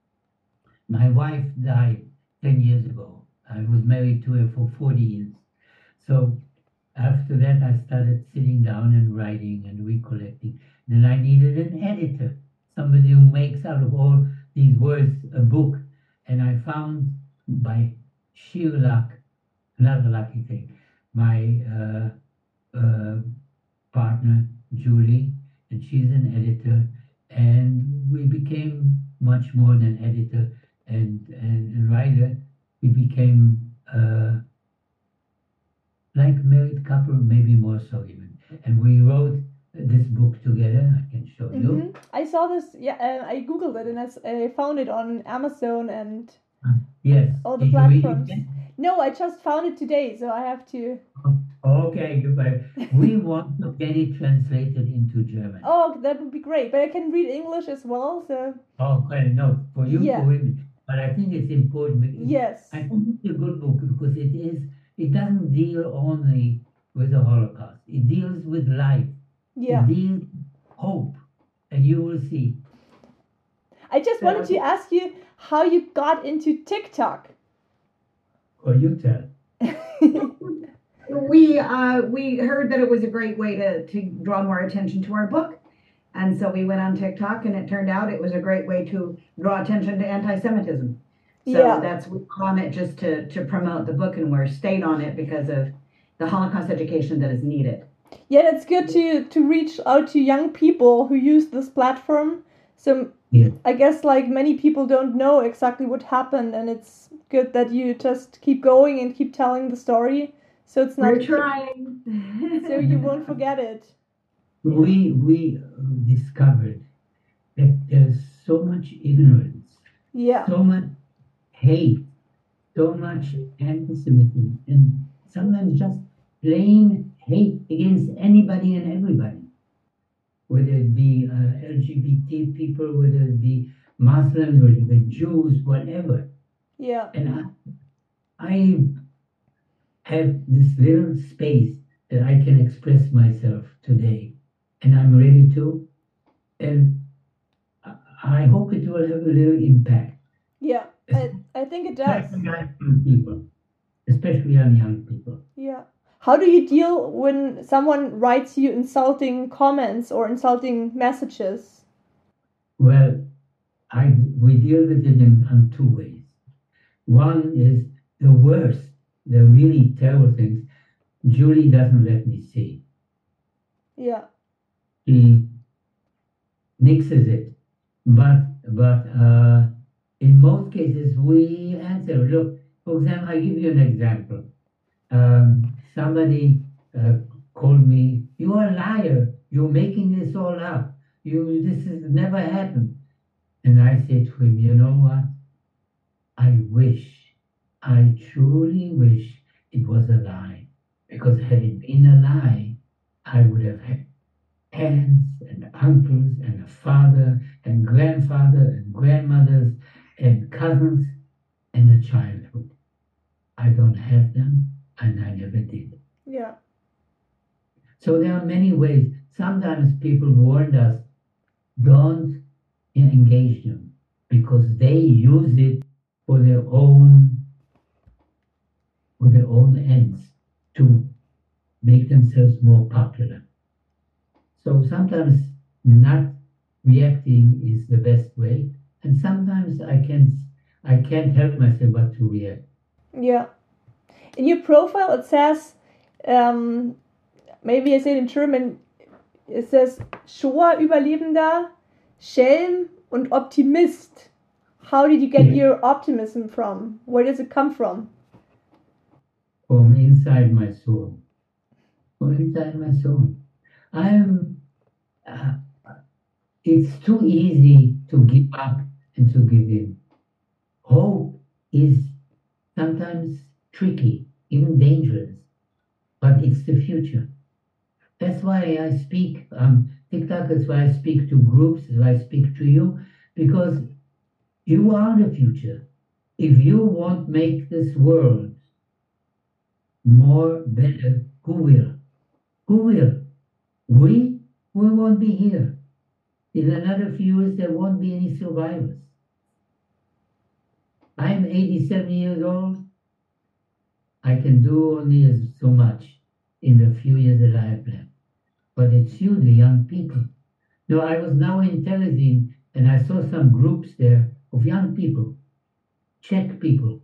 my wife died ten years ago. I was married to her for forty years. So after that, I started sitting down and writing and recollecting. Then I needed an editor, somebody who makes out of all these words a book. And I found by sheer luck, another lucky thing, my uh, uh, partner, Julie, and she's an editor, and we became much more than editor and, and, and Ryder, we became uh, like a married couple, maybe more so even. And we wrote this book together. I can show you. Mhm. I saw this. Yeah, uh, I googled it and I, s- I found it on Amazon and Yes. all the Did you read it platforms. yet? No, I just found it today, so I have to. Okay, goodbye. We want to get it translated into German. Oh, that would be great. But I can read English as well, so Oh, well, no, for you, Yeah. for women. But I think it's important. because yes. I think it's a good book because it is. It doesn't deal only with the Holocaust. It deals with life. Yeah. It deals with hope, and you will see. I just wanted to ask you how you got into TikTok. Or you tell. We uh, we heard that it was a great way to, to draw more attention to our book. And so we went on TikTok, and it turned out it was a great way to draw attention to anti-Semitism. So Yeah. that's we're on it just to, to promote the book, and we're stayed on it because of the Holocaust education that is needed. Yeah, it's good to to reach out to young people who use this platform. So Yeah. I guess like many people don't know exactly what happened, and it's good that you just keep going and keep telling the story. So it's not We're trying. so you won't forget it. We we discovered that there's so much ignorance, Yeah. so much hate, so much anti-Semitism, and sometimes just plain hate against anybody and everybody, whether it be uh, L G B T people, whether it be Muslims, whether it be Jews, whatever. Yeah. And I, I have this little space that I can express myself today, and I'm ready to. And I- I hope it will have a little impact. Yeah. I, I think it does. Especially on young people. Especially on young people. Yeah. How do you deal when someone writes you insulting comments or insulting messages? Well, I we deal with it in on two ways. One is the worst, the really terrible things. Julie doesn't let me see. Yeah. She nixes it, but but uh, in most cases we answer. Look, for example, I give you an example. Um, somebody uh, called me, "You are a liar. You're making this all up. You this has never happened." And I said to him, "You know what? I wish, I truly wish it was a lie, because had it been a lie, I would have had aunts and uncles and a father and grandfather and grandmothers and cousins and a childhood. I don't have them, and I never did." Yeah. So there are many ways. Sometimes people warned us, don't engage them, because they use it for their own for their own ends, to make themselves more popular. So sometimes not reacting is the best way, and sometimes I can't I can't help myself but to react. Yeah. In your profile, it says, um, maybe I say it in German, it says Shoah-Überlebender, Schelm und Optimist. How did you get Yeah. your optimism from? Where does it come from? From inside my soul. From inside my soul. I'm. Uh, it's too easy to give up and to give in. Hope is sometimes tricky, even dangerous, but it's the future. That's why I speak um, TikTok. That's why I speak to groups. That's why I speak to you, because you are the future. If you won't make this world more better, who will? Who will? We? We won't be here. In another few years, there won't be any survivors. I'm eighty-seven years old. I can do only as so much in the few years that I have left. But it's you, the young people. No, I was now in Telezin, and I saw some groups there of young people, Czech people,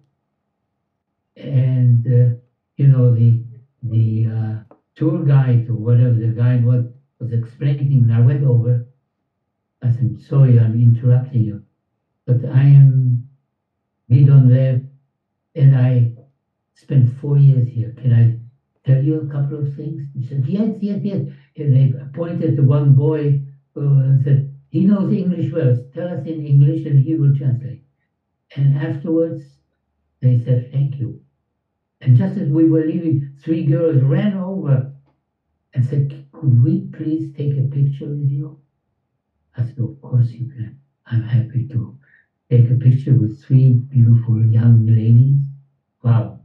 and uh, you know the the uh, tour guide or whatever the guide was was explaining, and I went over. I said, "Sorry, I'm interrupting you, but I am Gidon Lev, and I spent four years here. Can I tell you a couple of things? He said, yes, yes, yes. And they pointed to one boy uh, and said, he knows English well. Tell us in English and he will translate. And afterwards, they said, thank you. And just as we were leaving, three girls ran over and said, could we please take a picture with you? I said, of course you can. I'm happy to take a picture with three beautiful young ladies. Wow.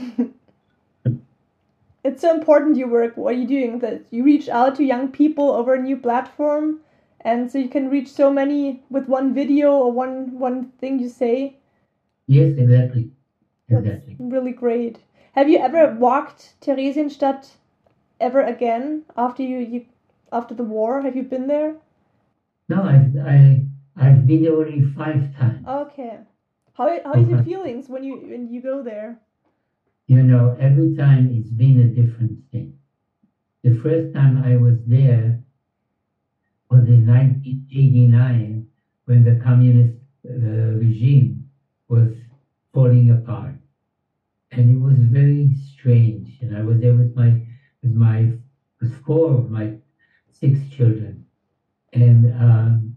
It's so important, your work, what you're doing, that you reach out to young people over a new platform, and so you can reach so many with one video or one, one thing you say. Yes, exactly. Exactly. That's really great. Have you ever walked Theresienstadt ever again after you, you after the war? Have you been there? No, I've, I, I've been there only five times. Okay. How, how is your feelings when you when you go there? You know, every time it's been a different thing. The first time I was there was in nineteen eighty-nine when the communist uh, regime was falling apart. And it was very strange. And I was there with my, with my, with four of my six children. And um,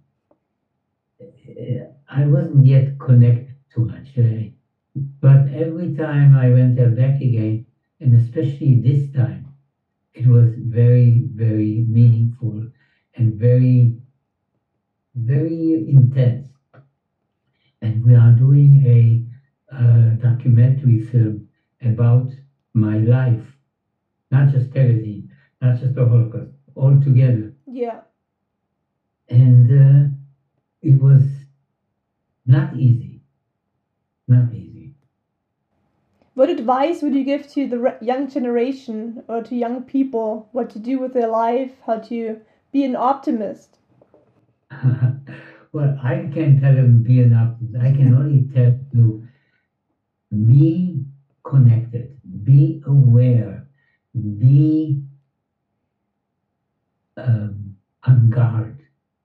I wasn't yet connected too much. Uh, but every time I went there back again, and especially this time, it was very, very meaningful and very, very intense. And we are doing a uh, documentary film about my life, not just Terezin, not just the Holocaust, all together. Yeah. And uh, it was not easy, not easy. What advice would you give to the re- young generation or to young people, what to do with their life, how to be an optimist? Well, I can't tell them be an optimist. I can only tell you be connected, be aware, be um, on guard,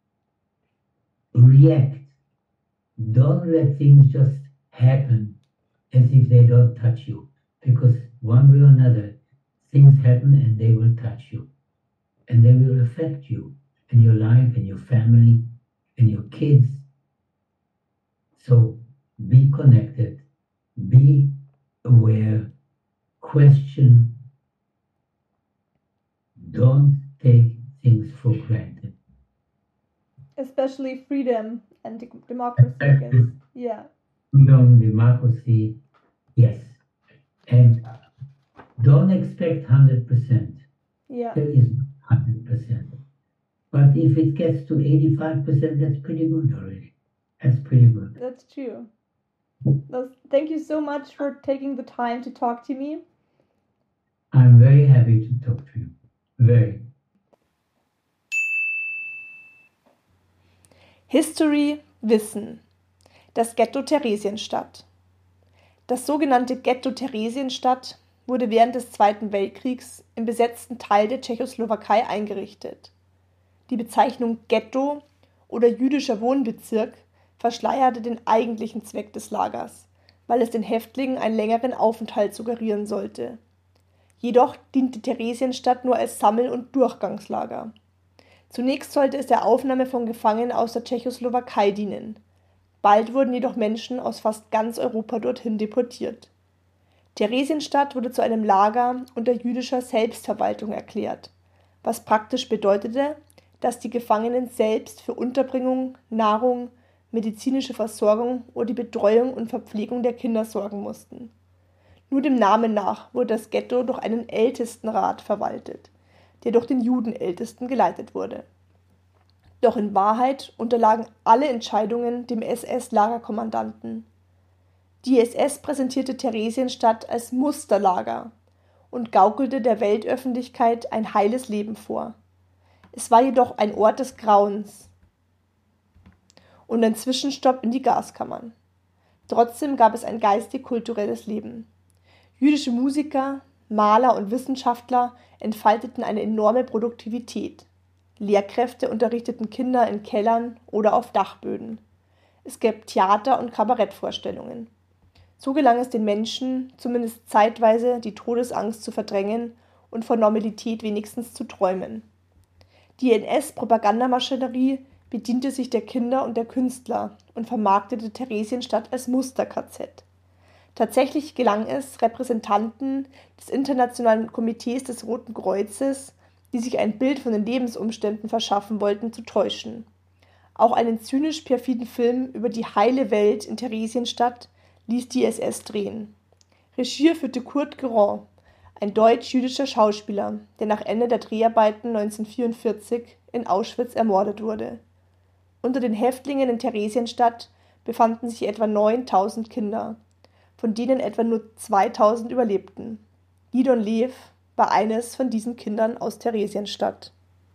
react. Don't let things just happen as if they don't touch you, because one way or another, things happen and they will touch you, and they will affect you and your life and your family and your kids. So be connected, be aware, question, don't take things for granted. Especially freedom and de- democracy, I guess. Yeah. Freedom, democracy, yes. And don't expect one hundred percent. Yeah. There is one hundred percent. But if it gets to eighty-five percent, that's pretty good already. That's pretty good. That's true. Well, thank you so much for taking the time to talk to me. I'm very happy to talk to you. Very. History, Wissen. Das Ghetto Theresienstadt. Das sogenannte Ghetto Theresienstadt wurde während des Zweiten Weltkriegs im besetzten Teil der Tschechoslowakei eingerichtet. Die Bezeichnung Ghetto oder jüdischer Wohnbezirk verschleierte den eigentlichen Zweck des Lagers, weil es den Häftlingen einen längeren Aufenthalt suggerieren sollte. Jedoch diente Theresienstadt nur als Sammel- und Durchgangslager. Zunächst sollte es der Aufnahme von Gefangenen aus der Tschechoslowakei dienen. Bald wurden jedoch Menschen aus fast ganz Europa dorthin deportiert. Theresienstadt wurde zu einem Lager unter jüdischer Selbstverwaltung erklärt, was praktisch bedeutete, dass die Gefangenen selbst für Unterbringung, Nahrung, medizinische Versorgung oder die Betreuung und Verpflegung der Kinder sorgen mussten. Nur dem Namen nach wurde das Ghetto durch einen Ältestenrat verwaltet, der durch den Judenältesten geleitet wurde. Doch in Wahrheit unterlagen alle Entscheidungen dem S S-Lagerkommandanten. Die S S präsentierte Theresienstadt als Musterlager und gaukelte der Weltöffentlichkeit ein heiles Leben vor. Es war jedoch ein Ort des Grauens und ein Zwischenstopp in die Gaskammern. Trotzdem gab es ein geistig-kulturelles Leben. Jüdische Musiker, Maler und Wissenschaftler entfalteten eine enorme Produktivität. Lehrkräfte unterrichteten Kinder in Kellern oder auf Dachböden. Es gab Theater- und Kabarettvorstellungen. So gelang es den Menschen, zumindest zeitweise die Todesangst zu verdrängen und von Normalität wenigstens zu träumen. Die N S-Propagandamaschinerie bediente sich der Kinder und der Künstler und vermarktete Theresienstadt als Muster-K Z. Tatsächlich gelang es Repräsentanten des Internationalen Komitees des Roten Kreuzes, die sich ein Bild von den Lebensumständen verschaffen wollten, zu täuschen. Auch einen zynisch-perfiden Film über die heile Welt in Theresienstadt ließ die S S drehen. Regie führte Kurt Geron, ein deutsch-jüdischer Schauspieler, der nach Ende der Dreharbeiten neunzehnhundertvierundvierzig in Auschwitz ermordet wurde. Unter den Häftlingen in Theresienstadt befanden sich etwa neuntausend Kinder, von denen etwa nur zweitausend überlebten. Gidon Lev war eines von diesen Kindern aus Theresienstadt.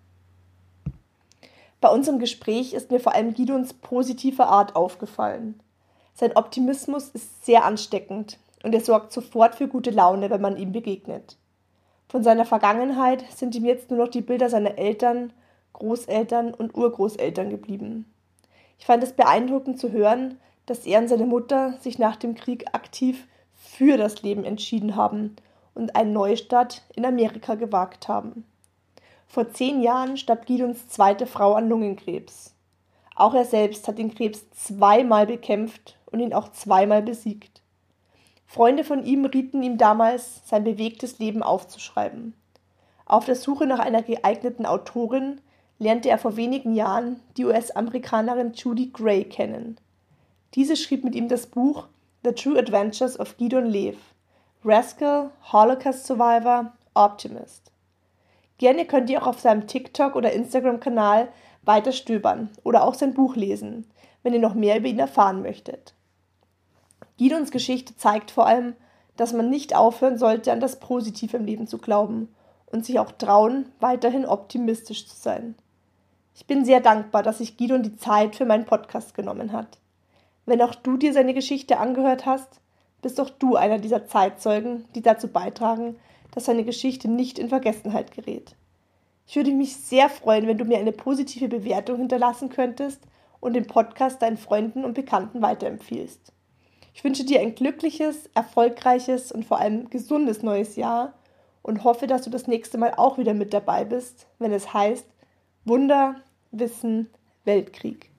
Bei unserem Gespräch ist mir vor allem Gidons positive Art aufgefallen. Sein Optimismus ist sehr ansteckend und er sorgt sofort für gute Laune, wenn man ihm begegnet. Von seiner Vergangenheit sind ihm jetzt nur noch die Bilder seiner Eltern, Großeltern und Urgroßeltern geblieben. Ich fand es beeindruckend zu hören, dass er und seine Mutter sich nach dem Krieg aktiv für das Leben entschieden haben und einen Neustart in Amerika gewagt haben. Vor zehn Jahren starb Gidons zweite Frau an Lungenkrebs. Auch er selbst hat den Krebs zweimal bekämpft und ihn auch zweimal besiegt. Freunde von ihm rieten ihm damals, sein bewegtes Leben aufzuschreiben. Auf der Suche nach einer geeigneten Autorin lernte er vor wenigen Jahren die U S-Amerikanerin Judy Gray kennen. Diese schrieb mit ihm das Buch The True Adventures of Gidon Lev, Rascal, Holocaust Survivor, Optimist. Gerne könnt ihr auch auf seinem TikTok- oder Instagram-Kanal weiter stöbern oder auch sein Buch lesen, wenn ihr noch mehr über ihn erfahren möchtet. Gidons Geschichte zeigt vor allem, dass man nicht aufhören sollte, an das Positive im Leben zu glauben und sich auch trauen, weiterhin optimistisch zu sein. Ich bin sehr dankbar, dass sich Gidon die Zeit für meinen Podcast genommen hat. Wenn auch du dir seine Geschichte angehört hast, bist auch du einer dieser Zeitzeugen, die dazu beitragen, dass seine Geschichte nicht in Vergessenheit gerät. Ich würde mich sehr freuen, wenn du mir eine positive Bewertung hinterlassen könntest und den Podcast deinen Freunden und Bekannten weiterempfiehlst. Ich wünsche dir ein glückliches, erfolgreiches und vor allem gesundes neues Jahr und hoffe, dass du das nächste Mal auch wieder mit dabei bist, wenn es heißt Wunder, Wissen, Weltkrieg.